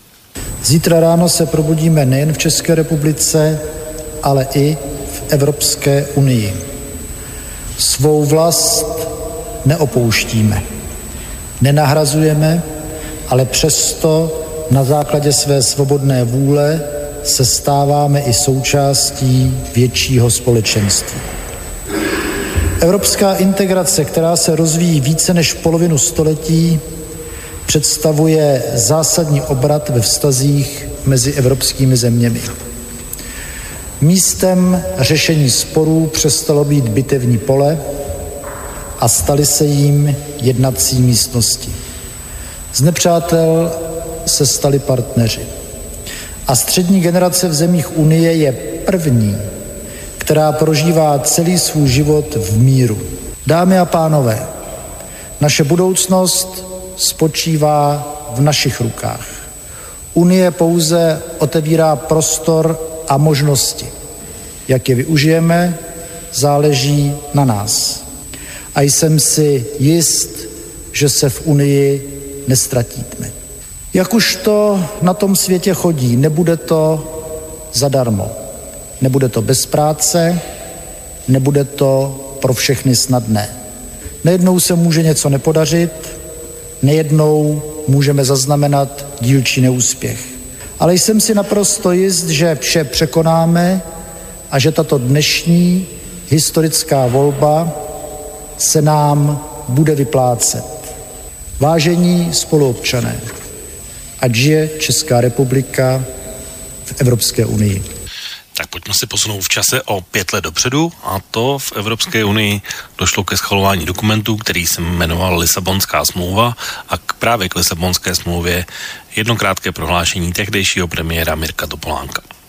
Zítra ráno se probudíme nejen v České republice, ale i v Evropské unii. Svou vlast neopouštíme, nenahrazujeme, ale přesto na základě své svobodné vůle se stáváme i součástí většího společenství. Evropská integrace, která se rozvíjí více než polovinu století, představuje zásadní obrat ve vztazích mezi evropskými zeměmi. Místem řešení sporů přestalo být bitevní pole a staly se jím jednací místnosti. Z nepřátel se stali partneři. A střední generace v zemích Unie je první, která prožívá celý svůj život v míru. Dámy a pánové, naše budoucnost spočívá v našich rukách. Unie pouze otevírá prostor a možnosti. Jak je využijeme, záleží na nás. A jsem si jist, že se v Unii nestratíme. Jak už to na tom světě chodí, nebude to zadarmo. Nebude to bez práce, nebude to pro všechny snadné. Nejednou se může něco nepodařit, nejednou můžeme zaznamenat dílčí neúspěch. Ale jsem si naprosto jist, že vše překonáme a že tato dnešní historická volba se nám bude vyplácet. Vážení spoluobčané, ať žije Česká republika v Evropské unii. Tak pojďme si posunout v čase o pět let dopředu a to v Evropské unii došlo ke schvalování dokumentu, který se jmenoval Lisabonská smlouva a k právě k Lisabonské smlouvě jedno krátké prohlášení tehdejšího premiéra Mirka Topolánka.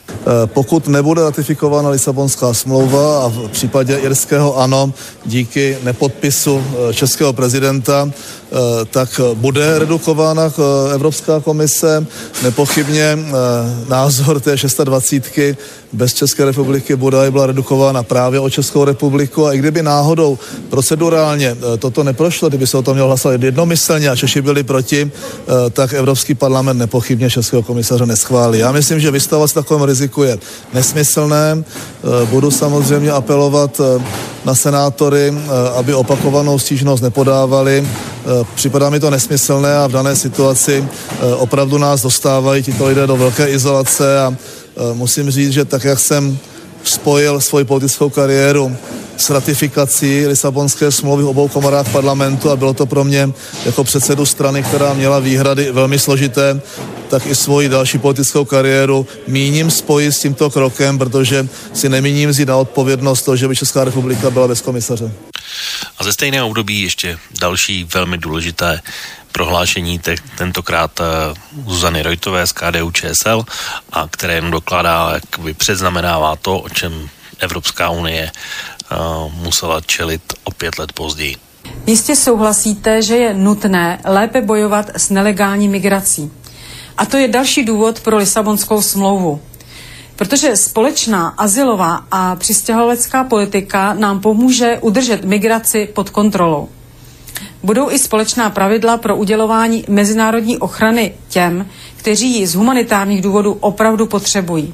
Pokud nebude ratifikována Lisabonská smlouva a v případě irského ano, díky nepodpisu českého prezidenta, tak bude redukována Evropská komise. Nepochybně názor té šestadvacítky bez České republiky bude byla redukována právě o Českou republiku a i kdyby náhodou procedurálně toto neprošlo, kdyby se o tom mělo hlasovat jednomyslně a Češi byli proti, tak Evropský parlament nepochybně českého komisaře neschválí. Já myslím, že vystavovat se takovému riziku je nesmyslné. Budu samozřejmě apelovat na senátory, aby opakovanou stížnost nepodávali. Připadá mi to nesmyslné a v dané situaci opravdu nás dostávají tito lidé do velké izolace a musím říct, že tak, jak jsem spojil svoji politickou kariéru s ratifikací Lisabonské smlouvy v obou komorách parlamentu a bylo to pro mě jako předsedu strany, která měla výhrady velmi složité, tak i svoji další politickou kariéru míním spojit s tímto krokem, protože si nemíním vzít na odpovědnost to, že by Česká republika byla bez komisaře. A ze stejného období ještě další velmi důležité prohlášení, te, tentokrát uh, Zuzany Rojtové z K D U Č S L, a které jen dokládá, jakoby předznamenává to, o čem Evropská unie uh, musela čelit o pět let později. Jistě souhlasíte, že je nutné lépe bojovat s nelegální migrací. A to je další důvod pro Lisabonskou smlouvu. Protože společná azylová a přistěhovalecká politika nám pomůže udržet migraci pod kontrolou. Budou i společná pravidla pro udělování mezinárodní ochrany těm, kteří ji z humanitárních důvodů opravdu potřebují.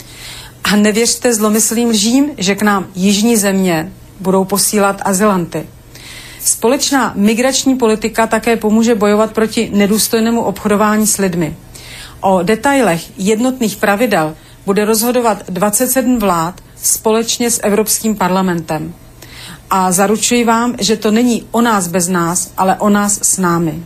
A nevěřte zlomyslným lžím, že k nám jižní země budou posílat azylanty. Společná migrační politika také pomůže bojovat proti nedůstojnému obchodování s lidmi. O detailech jednotných pravidel bude rozhodovat dvacet sedm vlád společně s Evropským parlamentem. A zaručuji vám, že to není o nás bez nás, ale o nás s námi.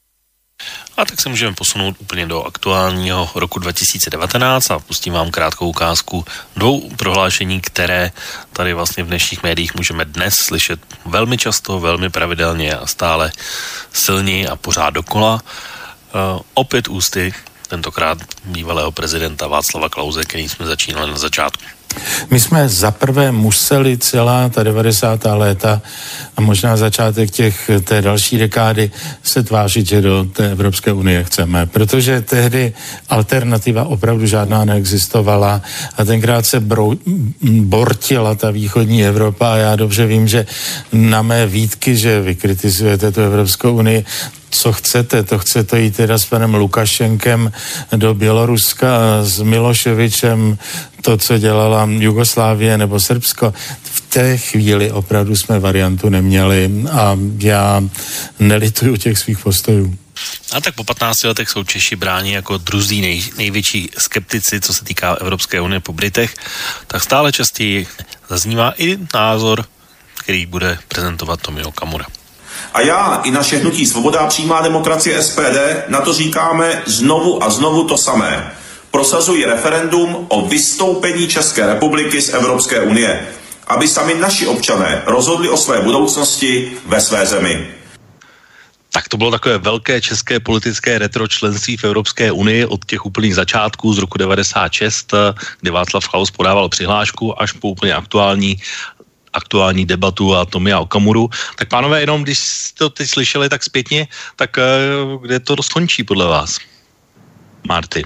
A tak se můžeme posunout úplně do aktuálního roku dva tisíce devatenáct a pustím vám krátkou ukázku dvou prohlášení, které tady vlastně v dnešních médiích můžeme dnes slyšet velmi často, velmi pravidelně a stále silněji a pořád dokola. Uh, opět ústy tentokrát bývalého prezidenta Václava Klause, který jsme začínali na začátku. My jsme zaprvé museli celá ta devadesátá léta a možná začátek těch, té další dekády se tvářit, že do té Evropské unie chceme, protože tehdy alternativa opravdu žádná neexistovala a tenkrát se brou, bortila ta východní Evropa a já dobře vím, že na mé výtky, že vy kritizujete tu Evropskou unii, co chcete, to chcete jít teda s panem Lukašenkem do Běloruska a s Miloševičem to, co dělala Jugoslávie nebo Srbsko. V té chvíli opravdu jsme variantu neměli a já nelituju těch svých postojů. A tak po patnácti letech jsou Češi bráni jako druzí nej, největší skeptici, co se týká Evropské unie po Britech, tak stále častěji zaznívá i názor, který bude prezentovat Tomio Okamura. A já i naše hnutí Svoboda a přímá demokracie S P D na to říkáme znovu a znovu to samé. Prosazují referendum o vystoupení České republiky z Evropské unie, aby sami naši občané rozhodli o své budoucnosti ve své zemi. Tak to bylo takové velké české politické retro členství v Evropské unii od těch úplných začátků z roku devadesát šest, kdy Václav Klaus podával přihlášku, až po úplně aktuální aktuální debatu a Tomia Okamuru. Tak pánové, jenom když jste to teď slyšeli tak zpětně, tak kde to skončí podle vás? Marty.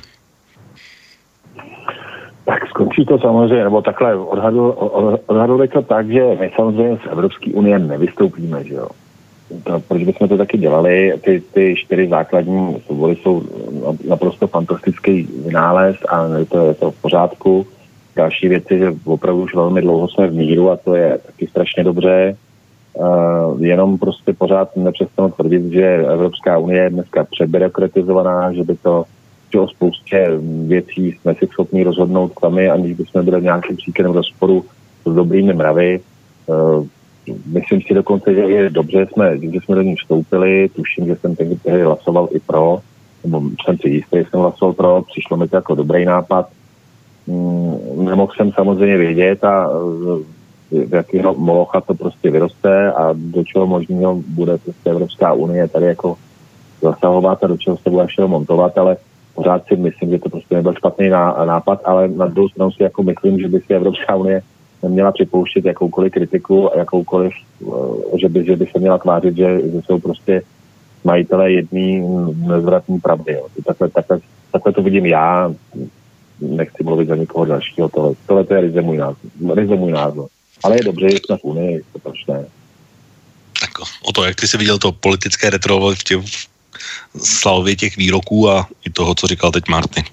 Tak skončí to samozřejmě, nebo takhle odhadl, odhadl to tak, že my samozřejmě z Evropské unie nevystoupíme, že jo. To, proč bychom to taky dělali? Ty, ty čtyři základní svobody jsou naprosto fantastický vynález a je to, je to v pořádku. Další věci, že opravdu už velmi dlouho jsme v míru a to je taky strašně dobře. Uh, jenom prostě pořád nepřestanu tvrdit, že Evropská unie je dneska přebyrokratizovaná, že by to, že o spoustě věcí jsme si schopni rozhodnout sami, aniž bychom byli v nějakém příkladem rozporu s dobrými mravy. Uh, myslím si dokonce, že je dobře, jsme, že jsme do ní vstoupili, tuším, že jsem tehdy hlasoval i pro, nebo jsem si jistý, že jsem hlasoval pro, přišlo mi to jako dobrý nápad. Nemohl jsem samozřejmě vědět a v jakého molocha to prostě vyroste a do čeho možného bude prostě Evropská unie tady jako zasahovat a do čeho se bude všeho montovat, ale pořád si myslím, že to prostě nebyl špatný nápad, ale na druhou stranu si jako myslím, že by si Evropská unie neměla připouštět jakoukoliv kritiku a jakoukoliv, že by, že by se měla tvářit, že, že jsou prostě majitelé jedný nezvratný pravdy. Jo. Takhle, takhle, takhle to vidím já, nechci mluvit za nikoho dalšího, tohle, tohle to je ryze můj názor. Ryze můj názor. Ale je dobře, že jsme v Unii, to proč ne. Tak o to, jak ty jsi viděl to politické retro v těch slavě těch výroků a i toho, co říkal teď Marty.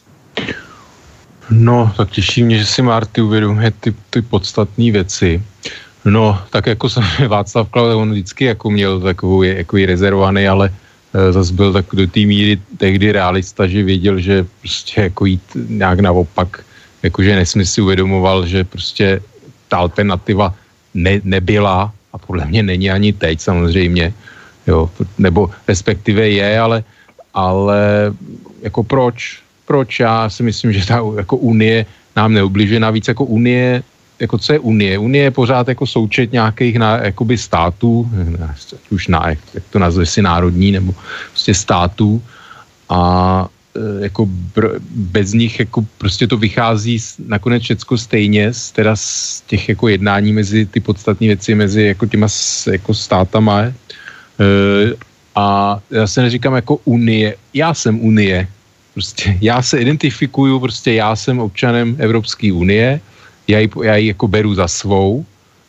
No, tak těší mě, že si Marty uvědomuje ty, ty podstatné věci. No, tak jako jsem Václav Klaus, on vždycky jako měl takový, jako rezervovaný, ale e, zase byl tak do té míry tehdy realista, že věděl, že prostě jako jít nějak naopak, jakože nesmysl si uvědomoval, že prostě ta alternativa ne, nebyla a podle mě není ani teď samozřejmě, jo, nebo respektive je, ale, ale jako proč? Proč? Já si myslím, že ta jako Unie nám neubližuje, navíc jako Unie, jako co je Unie? Unie je pořád jako součet nějakých na, jakoby států, už na, jak to nazve si národní, nebo prostě států a jako br, bez nich jako prostě to vychází nakonec všecko stejně, z, teda z těch jako jednání mezi ty podstatné věci, mezi jako těma jako státama. E, a já se neříkám jako Unie, já jsem Unie, prostě já se identifikuju, prostě já jsem občanem Evropské unie, já ji, já ji jako beru za svou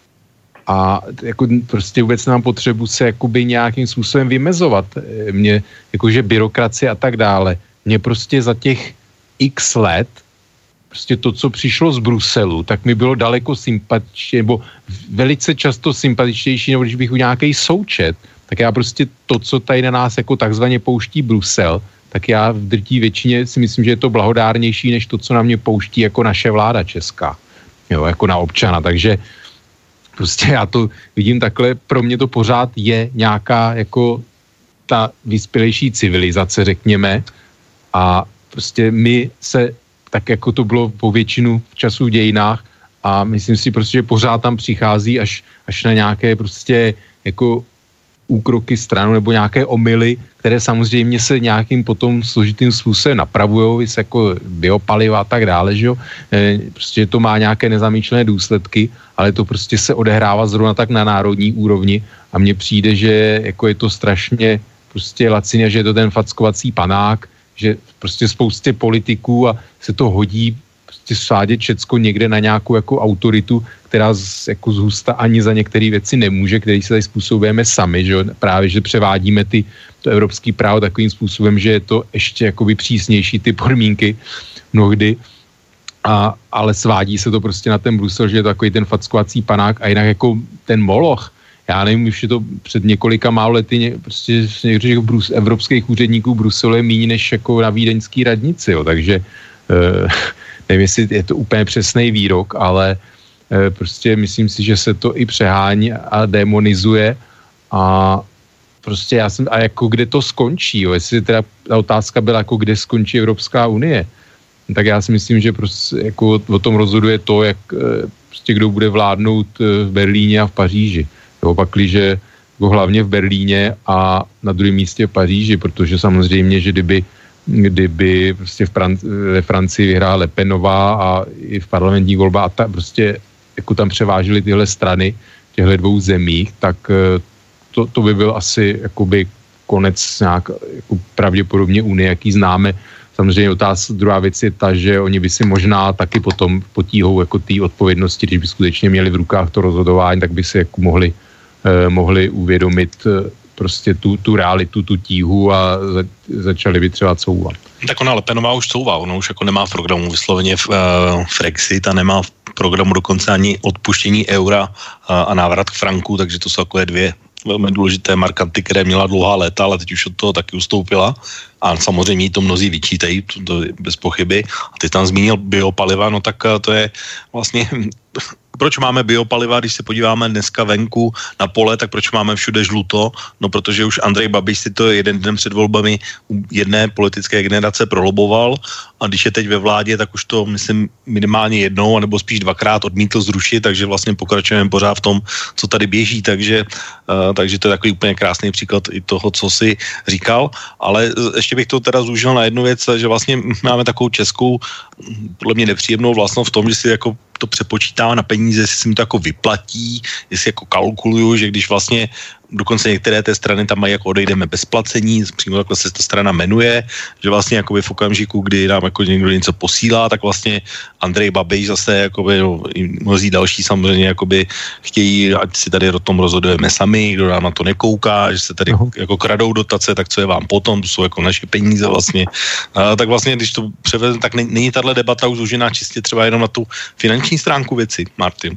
a jako prostě vůbec nemám potřebu se jakoby nějakým způsobem vymezovat. Mě, jakože byrokracie a tak dále. Mě prostě za těch x let prostě to, co přišlo z Bruselu, tak mi bylo daleko sympatičnější, nebo velice často sympatičtější, nebo když bych u nějaký součet, tak já prostě to, co tady na nás jako takzvaně pouští Brusel, tak já v drtí většině si myslím, že je to blahodárnější, než to, co na mě pouští jako naše vláda česká. Jo, jako na občana, takže prostě já to vidím takhle, pro mě to pořád je nějaká jako ta vyspělejší civilizace, řekněme, a prostě my se, tak jako to bylo po většinu času v dějinách a myslím si prostě, že pořád tam přichází až, až na nějaké prostě jako úkroky stranu nebo nějaké omyly, které samozřejmě se nějakým potom složitým způsobem napravujou, jako biopaliva a tak dále, že jo. E, prostě to má nějaké nezamýšlené důsledky, ale to prostě se odehrává zrovna tak na národní úrovni a mně přijde, že jako je to strašně prostě lacině, že je to ten fackovací panák, že prostě spoustě politiků a se to hodí prostě svádět všecko někde na nějakou jako autoritu, která z, jako zhusta ani za některé věci nemůže, který se tady způsobujeme sami, že jo? Právě, že převádíme ty, to evropský právo takovým způsobem, že je to ještě jakoby přísnější ty podmínky mnohdy, a, ale svádí se to prostě na ten Brusel, že je to takový ten fackovací panák a jinak jako ten moloch, já nevím, už je to před několika málo lety, prostě některých brus, evropských úředníků Bruselu je méně než jako na vídeňský radnici, jo? Takže eh, nevím, jestli je to úplně přesný výrok, ale e, prostě myslím si, že se to i přehání a demonizuje a prostě já jsem, a jako kde to skončí, jo, jestli teda ta otázka byla jako kde skončí Evropská unie, tak já si myslím, že prostě jako o tom rozhoduje to, jak e, prostě kdo bude vládnout v Berlíně a v Paříži. Jo, pakliže jako hlavně v Berlíně a na druhém místě v Paříži, protože samozřejmě, že kdyby kdyby prostě v Fran- ve Francii vyhrála Le Penová a i v parlamentní volbách a ta, prostě jako tam převážily tyhle strany v těchto dvou zemích, tak to, to by byl asi jakoby konec nějak jako pravděpodobně Unie, jaký známe. Samozřejmě otázka, druhá věc je ta, že oni by si možná taky potom potíhou jako té odpovědnosti, když by skutečně měli v rukách to rozhodování, tak by si jako mohli, eh, mohli uvědomit eh, prostě tu, tu realitu, tu tíhu a za, začali by třeba couvat. Tak ona Le Penová už couvá, ona už jako nemá v programu vysloveně v, uh, Frexit a nemá v programu dokonce ani odpuštění eura uh, a návrat k franku, takže to jsou takové dvě velmi důležité markanty, které měla dlouhá léta, ale teď už od toho taky ustoupila a samozřejmě to mnozí vyčítají, to, to bez pochyby. A ty tam zmínil biopaliva, no tak to je vlastně proč máme biopaliva, když se podíváme dneska venku na pole, tak proč máme všude žluto? No protože už Andrej Babiš si to jeden den před volbami u jedné politické generace proloboval a když je teď ve vládě, tak už to myslím minimálně jednou, nebo spíš dvakrát odmítl zrušit, takže vlastně pokračujeme pořád v tom, co tady běží, takže, uh, takže to je takový úplně krásný příklad i toho, co si říkal, ale ještě bych to teda zúžil na jednu věc, že vlastně máme takovou českou, podle mě nepříjemnou vlastnost v tom, že si jako to přepočítává na peníze, jestli se mi to jako vyplatí, jestli jako kalkuluju, že když vlastně dokonce některé té strany tam mají jako odejdeme bez placení, přímo takhle se ta strana jmenuje, že vlastně jakoby v okamžiku, kdy nám jako někdo něco posílá, tak vlastně Andrej Babiš zase jakoby, no, mnozí další samozřejmě jakoby chtějí, ať si tady o tom rozhodujeme sami, kdo nám na to nekouká, že se tady uh-huh. jako kradou dotace, tak co je vám potom, to jsou jako naše peníze vlastně. A, tak vlastně, když to převezme, tak není tahle debata už zúžená čistě třeba jenom na tu finanční stránku věci, Martin.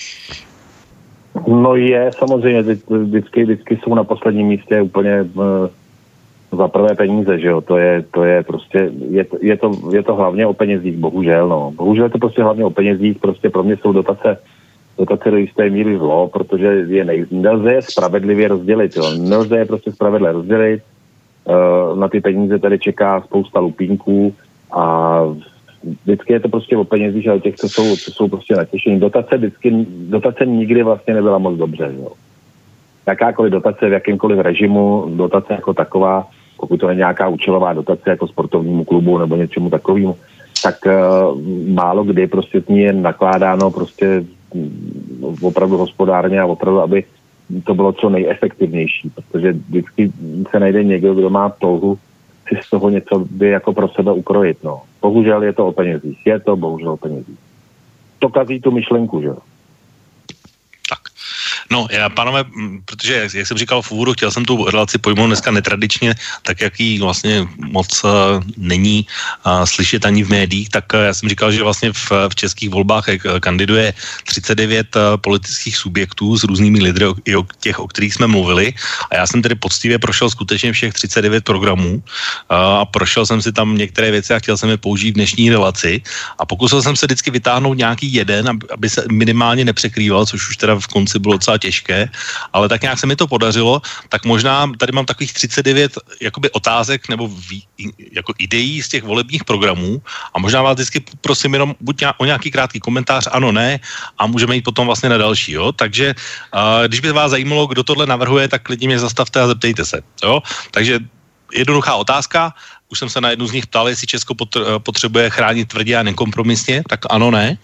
No je, samozřejmě, vždycky, vždycky jsou na posledním místě úplně uh, za prvé peníze, že jo, to je, to je prostě, je to, je, to, je to hlavně o penězích, bohužel, no. Bohužel je to prostě hlavně o penězích, prostě pro mě jsou dotace, dotace do jisté míry zlo, protože je nej, nelze je spravedlivě rozdělit, jo, nelze je prostě spravedlivě rozdělit, uh, na ty peníze tady čeká spousta lupínků a vždycky je to prostě o penězích, ale těch, co jsou, co jsou prostě natěšení. Dotace vždycky, dotace nikdy vlastně nebyla moc dobře, jo. Jakákoliv dotace v jakýmkoliv režimu, dotace jako taková, pokud to je nějaká účelová dotace jako sportovnímu klubu nebo něčemu takovému, tak uh, málo kdy prostě s ní je nakládáno prostě opravdu hospodárně a opravdu, aby to bylo co nejefektivnější, protože vždycky se najde někdo, kdo má touhu si z toho něco by jako pro sebe ukrojit, no. Bohužel je to o penězích. Je to bohužel o penězích. To kazí tu myšlenku, že jo. Tak. No, já, pánové, protože, jak, jak jsem říkal v úvodu, chtěl jsem tu relaci pojmout dneska netradičně, tak jak jí vlastně moc uh, není uh, slyšet ani v médiích, tak uh, já jsem říkal, že vlastně v, v českých volbách uh, kandiduje třicet devět uh, politických subjektů s různými lidry, o, i o těch, o kterých jsme mluvili. A já jsem tedy poctivě prošel skutečně všech třicet devět programů uh, a prošel jsem si tam některé věci a chtěl jsem je použít v dnešní relaci. A pokusil jsem se vždycky vytáhnout nějaký jeden, aby, aby se minimálně nepřekrýval, což už teda v konci bylo docela těžké, ale tak nějak se mi to podařilo, tak možná tady mám takových třicet devět jakoby otázek nebo vý, jako ideí z těch volebních programů a možná vás vždycky prosím jenom buď o nějaký krátký komentář, ano, ne, a můžeme jít potom vlastně na další, jo, takže uh, když by vás zajímalo, kdo tohle navrhuje, tak klidně mě zastavte a zeptejte se, jo, takže jednoduchá otázka, už jsem se na jednu z nich ptal, jestli Česko potřebuje chránit tvrdě a nekompromisně, tak ano, ne?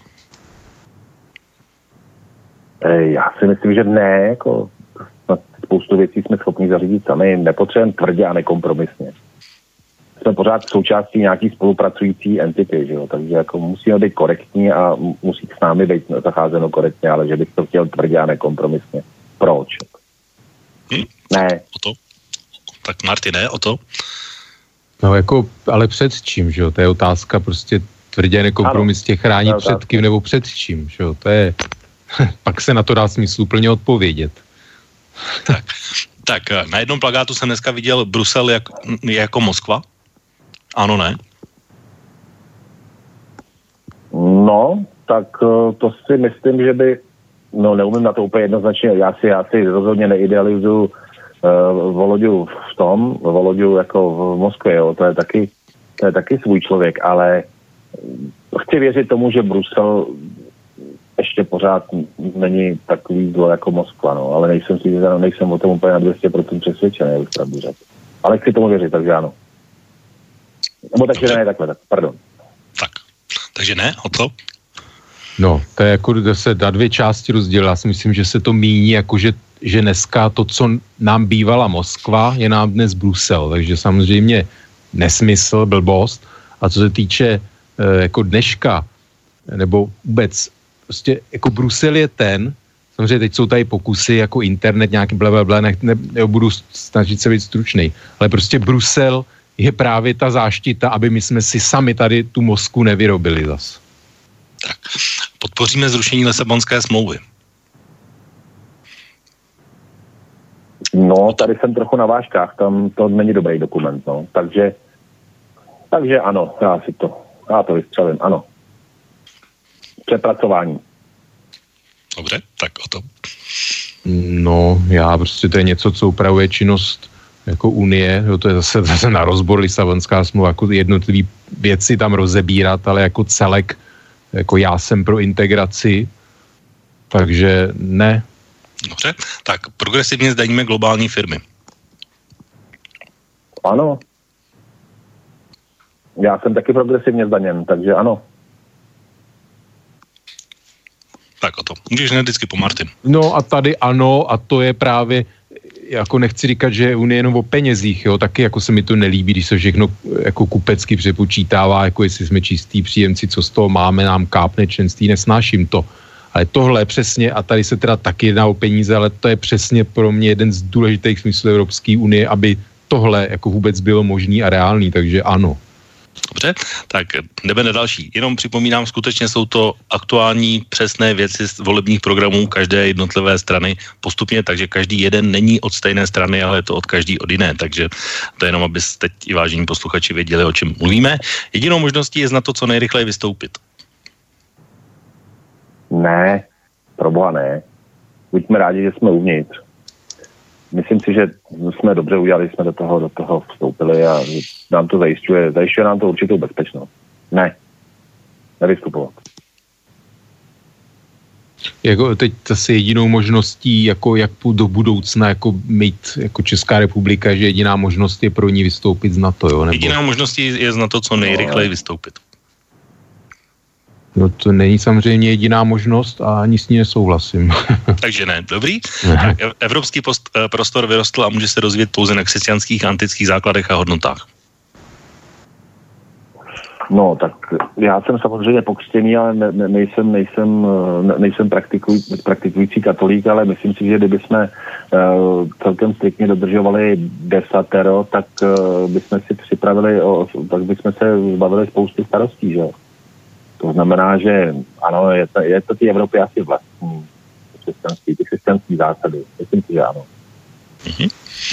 Já si myslím, že ne, jako spoustu věcí jsme schopni zařídit sami, nepotřebujeme tvrdě a nekompromisně. Jsme pořád součástí nějaký spolupracující entity, že jo, takže jako musíme být korektní a musí s námi být zacházeno korektně, ale že bych to chtěl tvrdě a nekompromisně. Proč? Hm? Ne. O to? Tak Martine, o to? No jako, ale před čím, že jo, to je otázka prostě tvrdě nekompromisně chránit ano, před kým nebo před čím, že jo, to je... Pak se na to dá smysluplně odpovědět. Tak, tak na jednom plakátu jsem dneska viděl Brusel jak, jako Moskva. Ano, ne? No, tak to si myslím, že by, no neumím na to úplně jednoznačně, já si, já si rozhodně neidealizuju uh, Voloďu v tom, Voloďu jako v Moskvě, jo, to je taky, to je taky svůj člověk, ale chci věřit tomu, že Brusel ještě pořád není takový zlo jako Moskva, no, ale nejsem si, nejsem o tom úplně na dvě stě procent přesvědčený, jak pravdu řekl. Ale chci tomu věřit, takže ano. Nebo takže Dobře. Ne, takhle, tak, pardon. Tak, takže ne, o co? No, to je jako se na dvě části rozdělila. Já si myslím, že se to míní jako, že, že dneska to, co nám bývala Moskva, je nám dnes Brusel, takže samozřejmě nesmysl, blbost. A co se týče e, jako dneška, nebo vůbec prostě jako Brusel je ten, samozřejmě teď jsou tady pokusy jako internet, nějaký blablabla, ne, ne, nebudu snažit se být stručnej, ale prostě Brusel je právě ta záštita, aby my jsme si sami tady tu Moskvu nevyrobili zas. Tak, podpoříme zrušení Lisabonské smlouvy. No, tady jsem trochu na vážkách, tam to není dobrý dokument, no, takže takže ano, já si to, já to vystřelím, ano. Přepracování. Dobře, tak o to. No, já prostě to je něco, co upravuje činnost jako Unie, jo, to je zase, zase na rozbor Lisabonská smlouva, jako jednotlivý věci tam rozebírat, ale jako celek, jako já jsem pro integraci, takže ne. Dobře, tak progresivně zdaníme globální firmy. Ano. Já jsem taky progresivně zdaněn, takže ano. Tak o to. Můžeš ne vždycky po Martin. No a tady ano, a to je právě, jako nechci říkat, že je Unie jenom o penězích, jo, taky jako se mi to nelíbí, když se všechno jako kupecky přepočítává, jako jestli jsme čistí příjemci, co z toho máme, nám kápne členství, nesnáším to. Ale tohle je přesně, a tady se teda taky jedná o peníze, ale to je přesně pro mě jeden z důležitých smyslů Evropské unie, aby tohle jako vůbec bylo možný a reálný, takže ano. Dobře, tak jdeme na další. Jenom připomínám, skutečně jsou to aktuální přesné věci z volebních programů každé jednotlivé strany postupně, takže každý jeden není od stejné strany, ale je to od každý od jiné, takže to je jenom, aby teď i vážení posluchači věděli, o čem mluvíme. Jedinou možností je na to, co nejrychleji vystoupit. Ne, proboha ne. Buďme rádi, že jsme uvnitř. Myslím si, že jsme dobře udělali, jsme do toho, do toho vstoupili a nám to zajišťuje, zajišťuje nám to určitou bezpečnost. Ne, nevystupovat. Jako teď zase jedinou možností, jako jak do budoucna jako mít jako Česká republika, že jediná možnost je pro ní vystoupit z NATO, jo? Nebo... Jediná možností je z NATO co nejrychleji vystoupit. No to není samozřejmě jediná možnost a ani s ní nesouhlasím. Takže ne, dobrý. Ne. Evropský post, prostor vyrostl a může se rozvíjet pouze na křesťanských antických základech a hodnotách. No, tak já jsem samozřejmě pokřtěný, ale ne, ne, nejsem, nejsem, ne, nejsem praktikuj, praktikující katolík, ale myslím si, že kdyby jsme uh, celkem striktně dodržovali desatero, tak uh, bychom si připravili, o, tak bychom se zbavili spousty starostí, že jo. To znamená, že ano, je to, je to ty Evropy asi vlastní křesťanský, ty křesťanský zásady. Myslím si, že ano. Mm-hmm.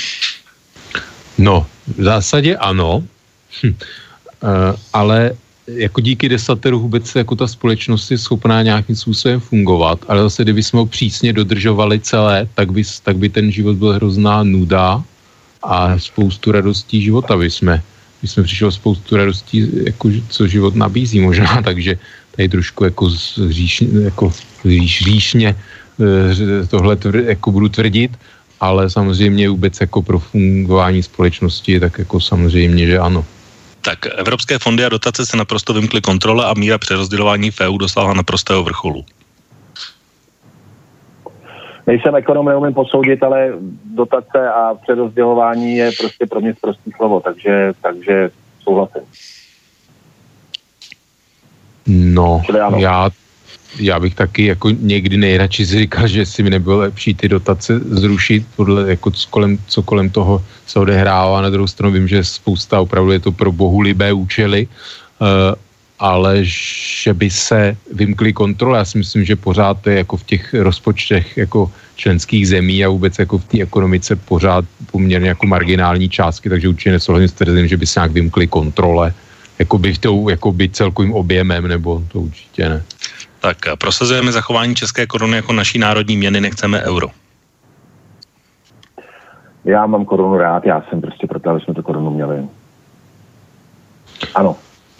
No, v zásadě ano, hm. uh, ale jako díky desateru vůbec jako ta společnost je schopná nějakým způsobem fungovat, ale zase kdyby jsme ho přísně dodržovali celé, tak by, tak by ten život byl hrozná nuda a spoustu radostí života by jsme My jsme přišli spoustu radostí, jako, co život nabízí možná, takže tady trošku jako, říšně, jako říš, říšně tohle tvr, jako budu tvrdit, ale samozřejmě vůbec jako pro fungování společnosti, tak jako samozřejmě, že ano. Tak evropské fondy a dotace se naprosto vymkly kontrole a míra přerozdělování v E U dosáhla naprostého vrcholu. Nejsem ekonom, neumím posoudit, ale dotace a přerozdělování je prostě pro mě prostý slovo, takže, takže souhlasím. No, já, já bych taky jako někdy nejradši říkal, že si mi nebylo lepší ty dotace zrušit, podle jako co kolem, co kolem toho se odehrává. Na druhou stranu vím, že spousta opravdu je to pro bohulibé účely, uh, ale že by se vymkly kontrole. Já si myslím, že pořád to je jako v těch rozpočtech jako členských zemí a vůbec jako v té ekonomice pořád poměrně jako marginální částky, takže určitě nesouhlasím s tvrzením, že by se nějak vymkly kontrole jakoby, tou, jakoby celkovým objemem, nebo to určitě ne. Tak prosazujeme zachování české koruny jako naší národní měny, nechceme euro. Já mám korunu rád, já jsem prostě proto, aby jsme tu korunu měli. Ano.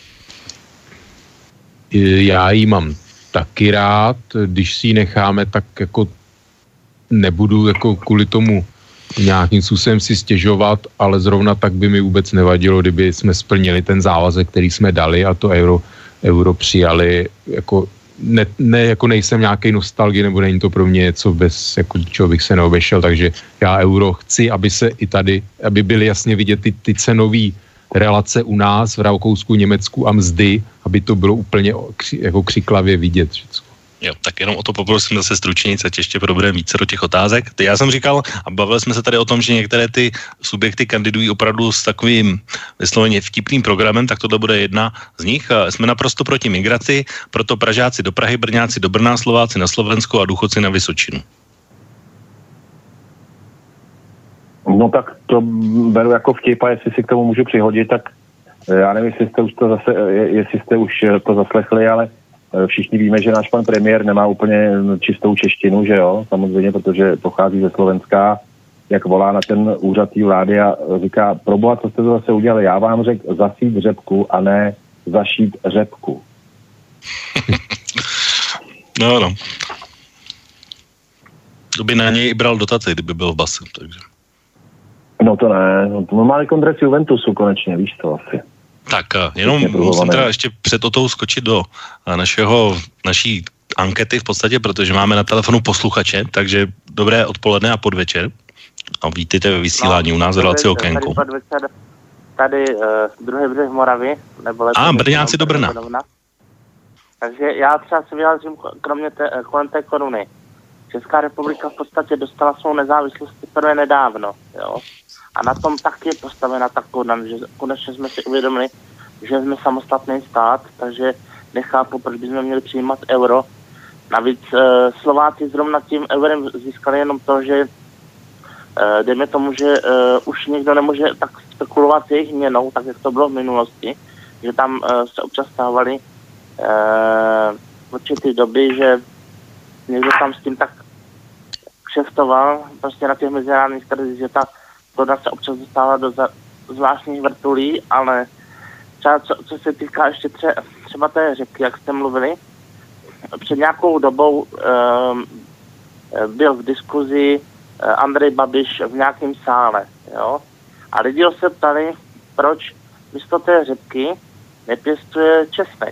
Já ji mám taky rád, když si ji necháme, tak jako nebudu jako kvůli tomu nějakým způsobem si stěžovat, ale zrovna tak by mi vůbec nevadilo, kdyby jsme splnili ten závazek, který jsme dali a to euro, euro přijali. Jako ne, ne, jako nejsem nějaký nostalgie, nebo není to pro mě něco, bez jako, čeho bych se neobešel, takže já euro chci, aby se i tady, aby byly jasně vidět ty, ty cenový relace u nás v Rakousku, Německu a mzdy, aby to bylo úplně kři, jako křiklavě vidět všechno. Jo, tak jenom o to poprosím zase stručněji, ať ještě probereme více do těch otázek. Já jsem říkal, a bavili jsme se tady o tom, že některé ty subjekty kandidují opravdu s takovým vysloveně vtipným programem, tak tohle bude jedna z nich. Jsme naprosto proti migraci, proto Pražáci do Prahy, Brňáci do Brna, Slováci na Slovensko a důchodci na Vysočinu. No tak to beru jako vtip a jestli si k tomu můžu přihodit, tak já nevím, jestli jste už to zase, jestli jste už to zaslechli, ale Všichni víme, že náš pan premiér nemá úplně čistou češtinu, že jo, samozřejmě, protože pochází ze Slovenska, jak volá na ten úřad té vlády a říká, proboha, co jste to zase udělali, já vám řekl zasít řepku a ne zašít řepku. No, no. To by na něj i bral dotaci, kdyby byl v base, takže. No to ne, no, má kongres Juventusu konečně, víš to asi. Tak jenom musím teda ještě před otou skočit do našeho, naší ankety v podstatě, protože máme na telefonu posluchače, takže dobré odpoledne a podvečer. A vítejte ve vysílání no, u nás v relaci Okénko. Tady, tady uh, druhý břeh Moravy. Nebo a, Brňáci do Brna. Brna. Takže já třeba se vyjádřím kromě té, kolem té koruny. Česká republika v podstatě dostala svou nezávislost teprve nedávno, jo. A na tom taky je postavena ta koruna, že konečně jsme si uvědomili, že jsme samostatný stát, takže nechápu, proč bychom měli přijímat euro. Navíc uh, Slováci zrovna tím eurem získali jenom to, že uh, dejme tomu, že uh, už někdo nemůže tak spekulovat s jejich měnou, tak jak to bylo v minulosti, že tam uh, se občas stávaly uh, v určitý doby, že někdo tam s tím tak kšeftoval, prostě na těch mezinárodních trzích, že ta koruna se občas dostává do za, zvláštních vrtulí, ale třeba co, co se týká ještě tře, třeba té řepky, jak jste mluvili, před nějakou dobou um, byl v diskuzi uh, Andrej Babiš v nějakém sále, jo, a lidi se ptali, proč místo té řepky nepěstuje česnek.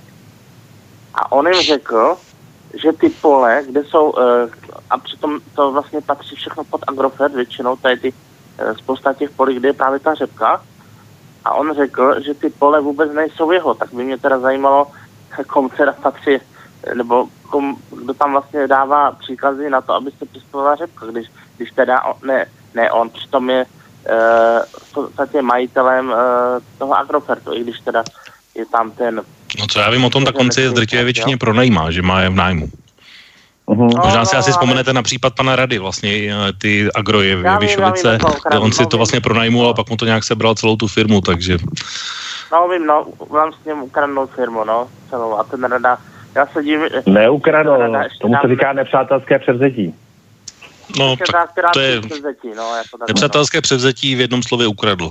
A on jim řekl, že ty pole, kde jsou, uh, a přitom to vlastně patří všechno pod Agrofert většinou, tady ty uh, spousta těch polí, kde je právě ta řepka, a on řekl, že ty pole vůbec nejsou jeho, tak by mě teda zajímalo, komu teda patří, nebo kom, kdo tam vlastně dává příkazy na to, aby se pěstovala řepka, když, když teda on, ne, ne on, přitom je uh, v podstatě majitelem uh, toho Agrofertu, i když teda je tam ten... No co já vím o tom, tak on si je drtivé většině pronajímá, že má je v nájmu. Uh-huh. Možná si asi vzpomenete na případ pana Rady, vlastně ty agroje v Vyšovice, kde on si to vlastně pronajmul a pak mu to nějak sebral celou tu firmu, takže... No vím, no, mám s ním ukradnou firmu, no, celou, a ten Rada, já se dívím... Neukradnou, tomu se říká nepřátelské převzetí. No, tak to je nepřátelské převzetí v jednom slově ukradl.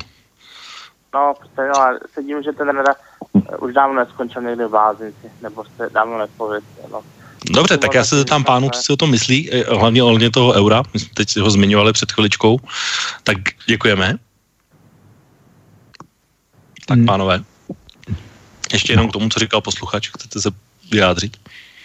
No, prostě, no, a se dívím, že ten Rada už dávno neskončil někde v blázinci, nebo se dávno nespověděl, no. Dobře, tak já se zeptám pánu, co si o tom myslí, hlavně ohledně toho eura, my jsme teď si ho zmiňovali před chviličkou, tak děkujeme. Tak pánové, ještě jenom k tomu, co říkal posluchač, chcete se vyjádřit?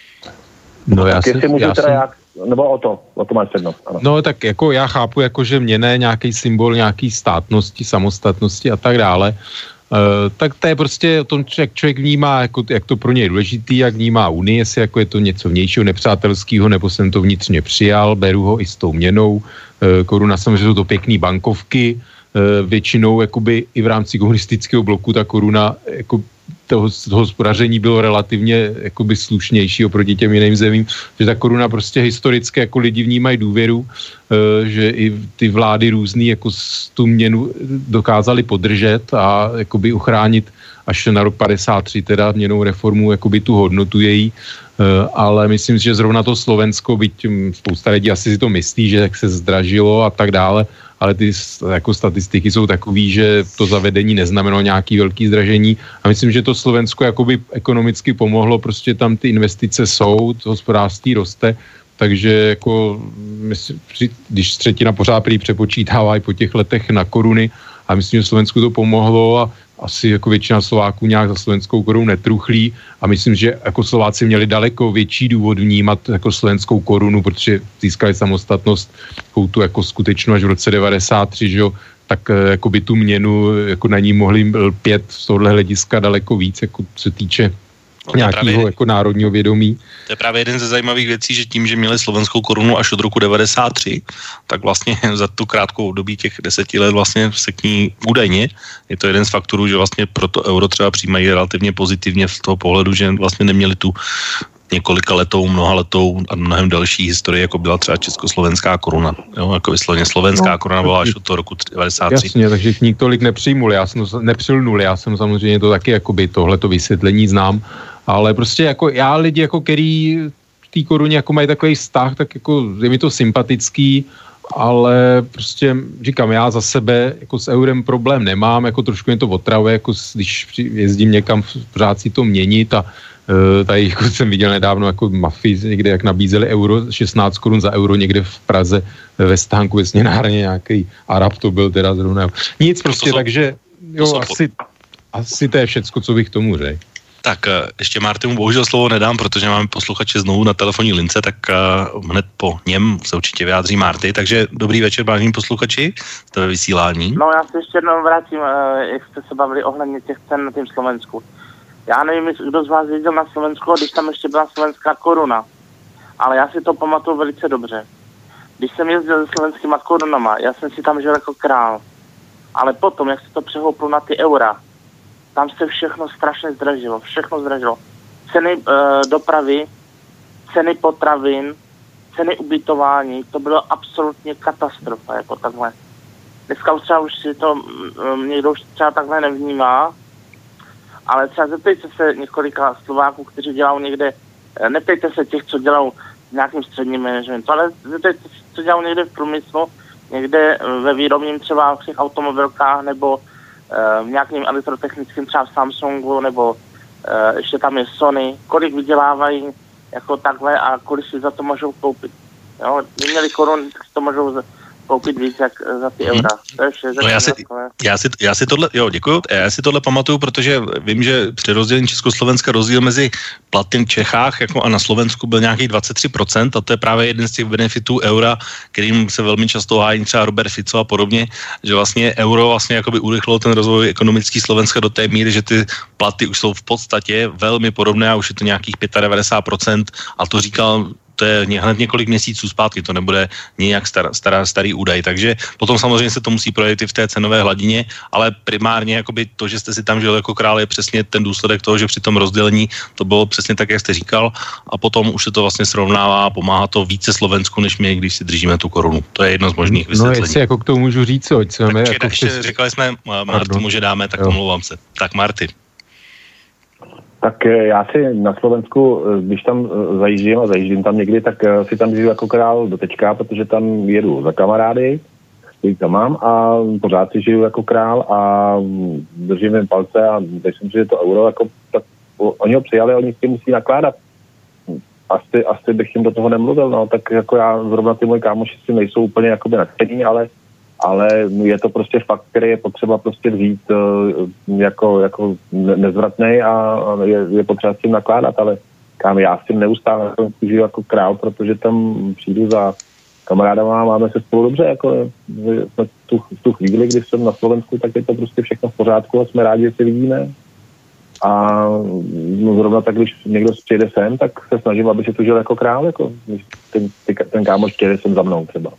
No já si, jsem, já jsem... Jak, nebo o to, o to máš přednost. Ano. No tak jako já chápu, jako že měna je nějaký symbol nějaký státnosti, samostatnosti a tak dále. Uh, tak to je prostě o tom, jak člověk vnímá, jako, jak to pro něj je důležitý, jak vnímá Unii, jestli jako je to něco vnějšího, nepřátelského, nebo jsem to vnitřně přijal, beru ho i s tou měnou. Uh, koruna, samozřejmě jsou to pěkný bankovky, uh, většinou jakoby i v rámci komunistického bloku ta koruna jako toho, toho hospodaření bylo relativně jakoby slušnější oproti těm jiným zemím, že ta koruna prostě historicky jako lidi vnímají důvěru, že i ty vlády různý jako tu měnu dokázali podržet a jakoby uchránit až na rok padesát tři teda měnou reformu jakoby tu hodnotu její, ale myslím si, že zrovna to Slovensko, byť spousta lidí asi si to myslí, že jak se zdražilo a tak dále, ale ty jako statistiky jsou takový, že to zavedení neznamenalo nějaký velký zdražení a myslím, že to Slovensko jakoby ekonomicky pomohlo, prostě tam ty investice jsou, to hospodářství roste, takže jako myslím, když třetina pořád prý přepočítává i po těch letech na koruny a myslím, že Slovensku to pomohlo a asi jako většina Slováků nějak za slovenskou korunu netruchlí a myslím, že jako Slováci měli daleko větší důvod vnímat jako slovenskou korunu, protože získali samostatnost tu jako skutečnou až v roce devadesát tři, že jo, tak jako by tu měnu jako na ní mohli lpět z tohohle hlediska daleko víc, jako se týče no, nějakého jako národního vědomí. To je právě jeden ze zajímavých věcí, že tím, že měli slovenskou korunu až od roku devadesát tři, tak vlastně za tu krátkou období těch deseti let vlastně se k ní údajně, je to jeden z faktorů, že vlastně proto euro třeba přijímají relativně pozitivně z toho pohledu, že vlastně neměli tu několika letou, mnoha letou a mnohem další historii, jako byla třeba československá koruna. Jo, jako vysloveně slovenská no, koruna byla až od toho roku devadesát tři. Jasně, takže k tolik nepřijmul, já jsem nepřilnul, já jsem samozřejmě to taky jakoby tohleto vysvětlení znám Ale prostě jako já lidi, jako který v té koruně jako mají takový vztah, tak jako je mi to sympatický, ale prostě říkám, já za sebe jako s eurem problém nemám, jako trošku mě to otravuje, jako když jezdím někam, pořád si to měnit a uh, tady jako jsem viděl nedávno jako mafii někde, jak nabízeli euro, šestnáct korun za euro někde v Praze ve stánku ve směnárně, nějaký Arab to byl teda zrovna. Nic prostě, takže jo, asi, asi to je všecko, co bych tomu řekl. Tak ještě Martinu bohužel slovo nedám, protože máme posluchače znovu na telefonní lince, tak uh, hned po něm se určitě vyjádří Marty. Takže dobrý večer, vážení posluchači, jste ve vysílání. No já se ještě jednou vrátím, uh, jak jste se bavili ohledně těch cen na tým Slovensku. Já nevím, kdo z vás jezdil na Slovensku, když tam ještě byla slovenská koruna, ale já si to pamatuju velice dobře. Když jsem jezdil se slovenskýma korunama, já jsem si tam žil jako král, ale potom, jak se to přehouplo na ty eura, tam se všechno strašně zdražilo, všechno zdražilo. Ceny e, dopravy, ceny potravin, ceny ubytování, to bylo absolutně katastrofa, jako takhle. Dneska už třeba už si to, m, někdo už třeba takhle nevnímá, ale třeba zeptejte se několika Slováků, kteří dělají někde, neptejte se těch, co dělají v nějakým středním managementu, ale zeptejte se, co dělají někde v průmyslu, někde ve výrobním třeba v těch automobilkách, nebo v nějakým elektrotechnickým třeba v Samsungu, nebo uh, ještě tam je Sony, kolik vydělávají jako takhle a kolik si za to můžou koupit. Jo, kdyby měli korun, tak si to můžou koupit víc jak za ty eura. To je vše. No já, si, já, si, já si tohle, jo, děkuju, já si tohle pamatuju, protože vím, že při rozdělení Československa rozdíl mezi platy v Čechách jako a na Slovensku byl nějakých dvacet tři procent a to je právě jeden z těch benefitů eura, kterým se velmi často hájí třeba Robert Fico a podobně, že vlastně euro vlastně jakoby urychlilo ten rozvoj ekonomický Slovenska do té míry, že ty platy už jsou v podstatě velmi podobné a už je to nějakých devadesát pět procent a to říkal to je hned několik měsíců zpátky, to nebude nějak star, star, starý údaj, takže potom samozřejmě se to musí projevit i v té cenové hladině, ale primárně jakoby to, že jste si tam žil jako král, je přesně ten důsledek toho, že při tom rozdělení to bylo přesně tak, jak jste říkal, a potom už se to vlastně srovnává a pomáhá to více Slovensku, než my, když si držíme tu korunu. To je jedno z možných vysvětlení. No jestli jako k tomu můžu říct, co jsme tak jako ještě přes... říkali jsme Martu, že dáme, tak omlouvám se. Tak Marty. Tak já si na Slovensku, když tam zajíždím a zajíždím tam někdy, tak si tam žiju jako král do teďka, protože tam jedu za kamarády, který tam mám a pořád si žiju jako král a držím jim palce a myslím, že je to euro, jako, tak oni ho přijali, oni s tím musí nakládat. Asi, asi bych jim do toho nemluvil, no, tak jako já, zrovna ty moji kámoši si nejsou úplně jakoby nadšení, ale ale je to prostě fakt, který je potřeba prostě vzít uh, jako, jako nezvratnej a je, je potřeba s tím nakládat, ale kam já s tím neustále žiju jako král, protože tam přijdu za kamarádama a máme se spolu dobře, jako v tu, v tu chvíli, když jsem na Slovensku, tak je to prostě všechno v pořádku a jsme rádi, že se vidíme. A no, zrovna tak, když někdo přijede sem, tak se snažím, aby se tu žil jako král, jako ten, ten kámoš přijede sem za mnou třeba.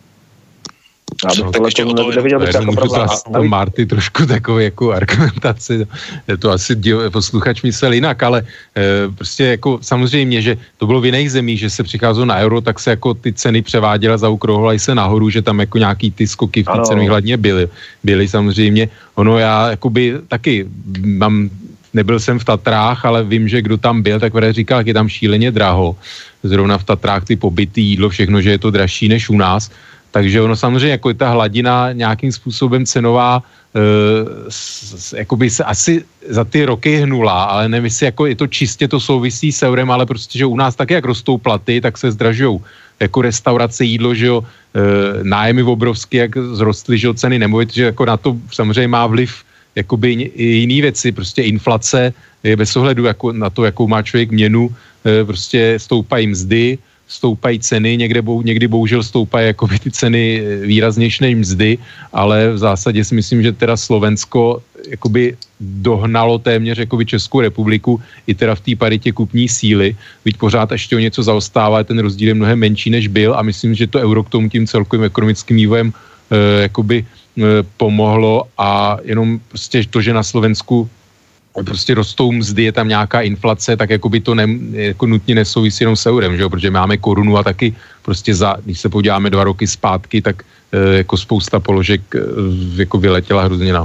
No, tak ještě o to to Marty trošku takovou jako argumentaci, to asi díl, posluchač myslel jinak, ale e, prostě jako samozřejmě, že to bylo v jiných zemích, že se přicházelo na euro, tak se jako ty ceny převáděly, zaokrouhly se nahoru, že tam jako nějaký ty skoky v té cenové hladně byly, byly samozřejmě. Ono já jakoby taky mám, nebyl jsem v Tatrách, ale vím, že kdo tam byl, tak vede říkal, jak je tam šíleně draho. Zrovna v Tatrách ty pobyty, jídlo, všechno, že je to dražší než u nás. Takže ono samozřejmě jako je ta hladina nějakým způsobem cenová e, s, s, jakoby se asi za ty roky hnula, ale nevím, jestli jako je to čistě to souvisí s eurem, ale prostě, že u nás taky jak rostou platy, tak se zdražujou jako restaurace, jídlo, že jo, e, nájmy obrovské, jak zrostly, že jo, ceny nemovit, že jako na to samozřejmě má vliv jakoby i jiný věci, prostě inflace je bez ohledu jako na to, jakou má člověk měnu, e, prostě stoupají mzdy, stoupají ceny, někde, někdy bohužel stoupají jakoby ty ceny výraznější než mzdy, ale v zásadě si myslím, že teda Slovensko jakoby dohnalo téměř jakoby Českou republiku i teda v té paritě kupní síly, byť pořád ještě o něco zaostává, ten rozdíl je mnohem menší než byl a myslím, že to euro k tomu tím celkovým ekonomickým vývojem e, jakoby e, pomohlo a jenom prostě to, že na Slovensku prostě rostou mzdy, je tam nějaká inflace, tak jako by to ne, jako nutně nesouvisí jenom s eurem, že jo? Protože máme korunu a taky prostě za, když se podíváme dva roky zpátky, tak e, jako spousta položek e, jako vyletěla hrozně nahoru.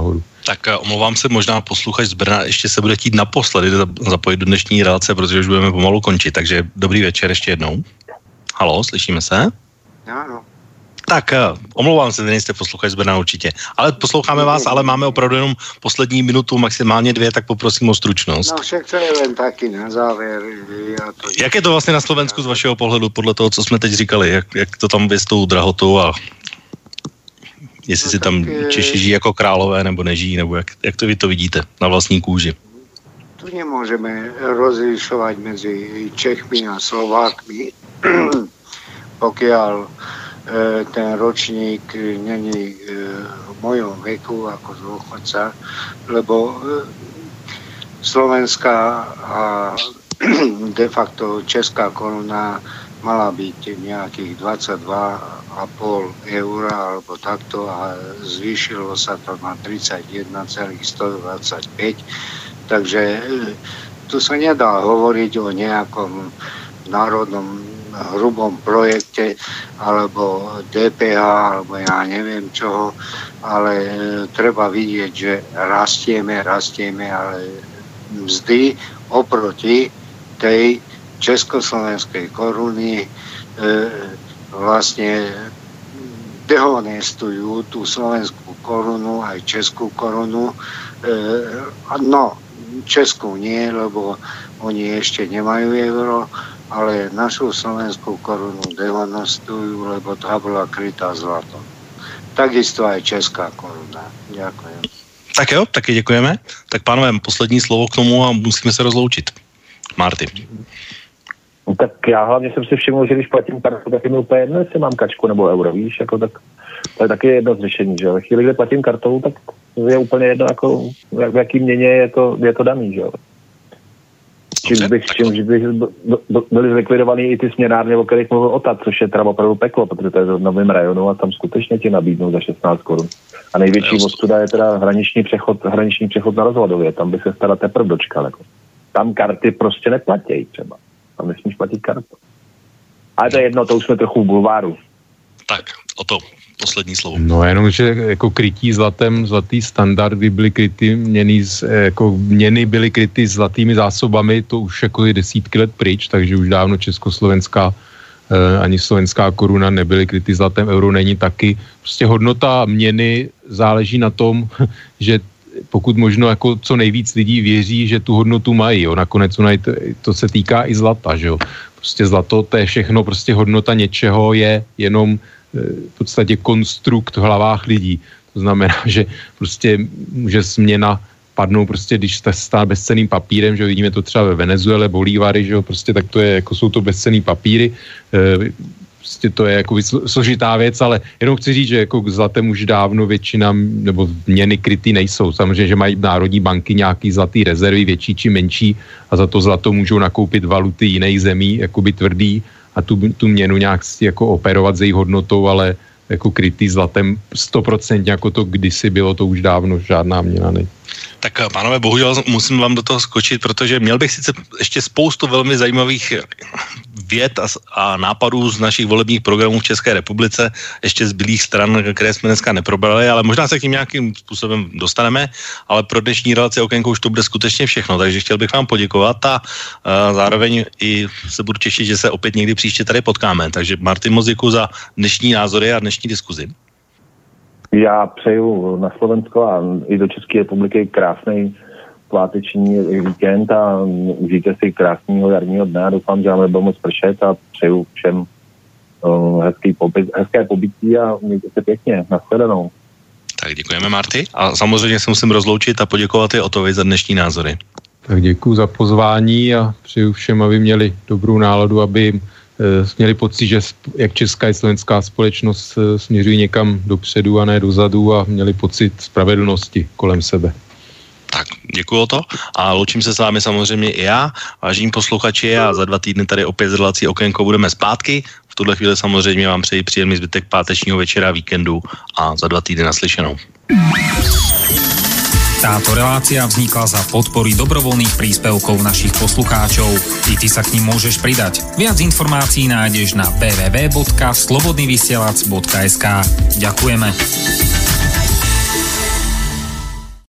Tak omlouvám se, možná posluchač z Brna ještě se bude chtít naposledy zapojit do dnešní relace, protože už budeme pomalu končit. Takže dobrý večer ještě jednou. Haló, slyšíme se? Ano. Tak, omlouvám se, nejste posluchač z Brna určitě. Ale posloucháme vás, ale máme opravdu jenom poslední minutu, maximálně dvě, tak poprosím o stručnost. No však to je len taky na závěr. Ja to... Jak je to vlastně na Slovensku z vašeho pohledu, podle toho, co jsme teď říkali? Jak, jak to tam je s tou drahotou a jestli no, si tam tak, Češi žijí jako králové, nebo nežijí, nebo jak, jak to vy to vidíte na vlastní kůži? Tu nemůžeme rozlišovat mezi Čechmi a Slovákmi, pokiaľ ten ročník není v mojom veku ako dôchodca, lebo slovenská a de facto česká koruna mala byť nejakých dvadsaťdva a pol eur alebo takto a zvýšilo sa to na tridsaťjeden celá stodvadsaťpäť. Takže tu sa nedá hovoriť o nejakom národnom hrubom projekte alebo dé pé há alebo ja neviem čoho, ale treba vidieť, že rastieme, rastieme, ale mzdy oproti tej československej koruny e, vlastne dehonestujú tú slovenskú korunu aj českú korunu. E, no, českú nie, lebo oni ešte nemajú euro, ale našu slovenskú korunu dehonestujú, lebo tá bola krytá zlatom. Takisto aj česká koruna. Ďakujem. Tak jo, taky děkujeme. Tak pánové, poslední slovo k tomu a musíme se rozloučit. Marty. No, tak já hlavně jsem si všiml, že když platím kartu, tak je mi úplně jedno, jestli mám kačku nebo euro, víš, jako tak to je taky jedno z řešení, že ve chvíli, kdy platím kartou, tak je úplně jedno, jako jak, v jaký měně je to, je to daný, že jo. Čím bych, čím bych byly zlikvidovaný i ty směnárny, o kterých mluvil Ota, což je teda opravdu peklo, protože to je v novém rajonu a tam skutečně ti nabídnou za šestnáct korun. A největší ostuda je teda hraniční přechod, hraniční přechod na Rozvadově, tam by se teda teprve dočkal. Jako. Tam karty prostě neplatí třeba. Tam nesmíš platit kartu. Ale to je jedno, to už jsme trochu v bulváru. Tak, o to poslední slovo. No jenom, že jako krytí zlatem, zlatý standard, kdy byly kryty měny, jako měny byly kryty zlatými zásobami, to už jako je desítky let pryč, takže už dávno československá eh, ani slovenská koruna nebyly kryty zlatem, euro není taky. Prostě hodnota měny záleží na tom, že pokud možno jako co nejvíc lidí věří, že tu hodnotu mají, jo. Nakonec to, to se týká i zlata, že jo. Prostě zlato, to je všechno, prostě hodnota něčeho je jenom v podstatě konstrukt v hlavách lidí. To znamená, že prostě může směna padnout prostě, když se stane bezcenným papírem, že vidíme to třeba ve Venezuele, bolívary, že jo, prostě tak to je, jako jsou to bezcenný papíry, prostě to je jako složitá věc, ale jenom chci říct, že jako k zlatem už dávno většina, nebo měny krytý nejsou. Samozřejmě, že mají národní banky nějaký zlatý rezervy, větší či menší a za to zlato můžou nakoupit valuty jiných zemí, jakoby tvrdý a tu, tu měnu nějak jako operovat s její hodnotou, ale jako krytý zlatem sto procent jako to kdysi bylo, to už dávno žádná měna není. Tak pánové, bohužel musím vám do toho skočit, protože měl bych sice ještě spoustu velmi zajímavých věd a, a nápadů z našich volebních programů v České republice, ještě z bylých stran, které jsme dneska neprobrali, ale možná se k tím nějakým způsobem dostaneme, ale pro dnešní relaci Okénko už to bude skutečně všechno, takže chtěl bych vám poděkovat a, a zároveň i se budu těšit, že se opět někdy příště tady potkáme. Takže Martin, moc děkuji za dnešní názory a dnešní diskuzi. Já přeju na Slovensko a i do České republiky krásný sváteční víkend a užijte si krásného jarního dne a doufám, že vám nebude moc pršet a přeju všem uh, hezký pobyt, hezké pobytí a mějte se pěkně. Nashledanou. Tak děkujeme, Marty. A samozřejmě se musím rozloučit a poděkovat i Otovi za dnešní názory. Tak děkuji za pozvání a přeju všem, aby měli dobrou náladu, aby měli pocit, že jak česká i slovenská společnost směřují někam dopředu a ne dozadu a měli pocit spravedlnosti kolem sebe. Tak, děkuju to a loučím se s vámi samozřejmě i já, vážení posluchači, a za dva týdny tady opět z relací Okénko budeme zpátky. V tuhle chvíli samozřejmě vám přeji příjemný zbytek pátečního večera, víkendu a za dva týdny naslyšenou. Táto relácia vznikla za podpory dobrovoľných príspevkov našich poslucháčov. I ty sa k nim môžeš pridať. Viac informácií nájdeš na w w w bodka slobodnyvysielac bodka es ka. Ďakujeme.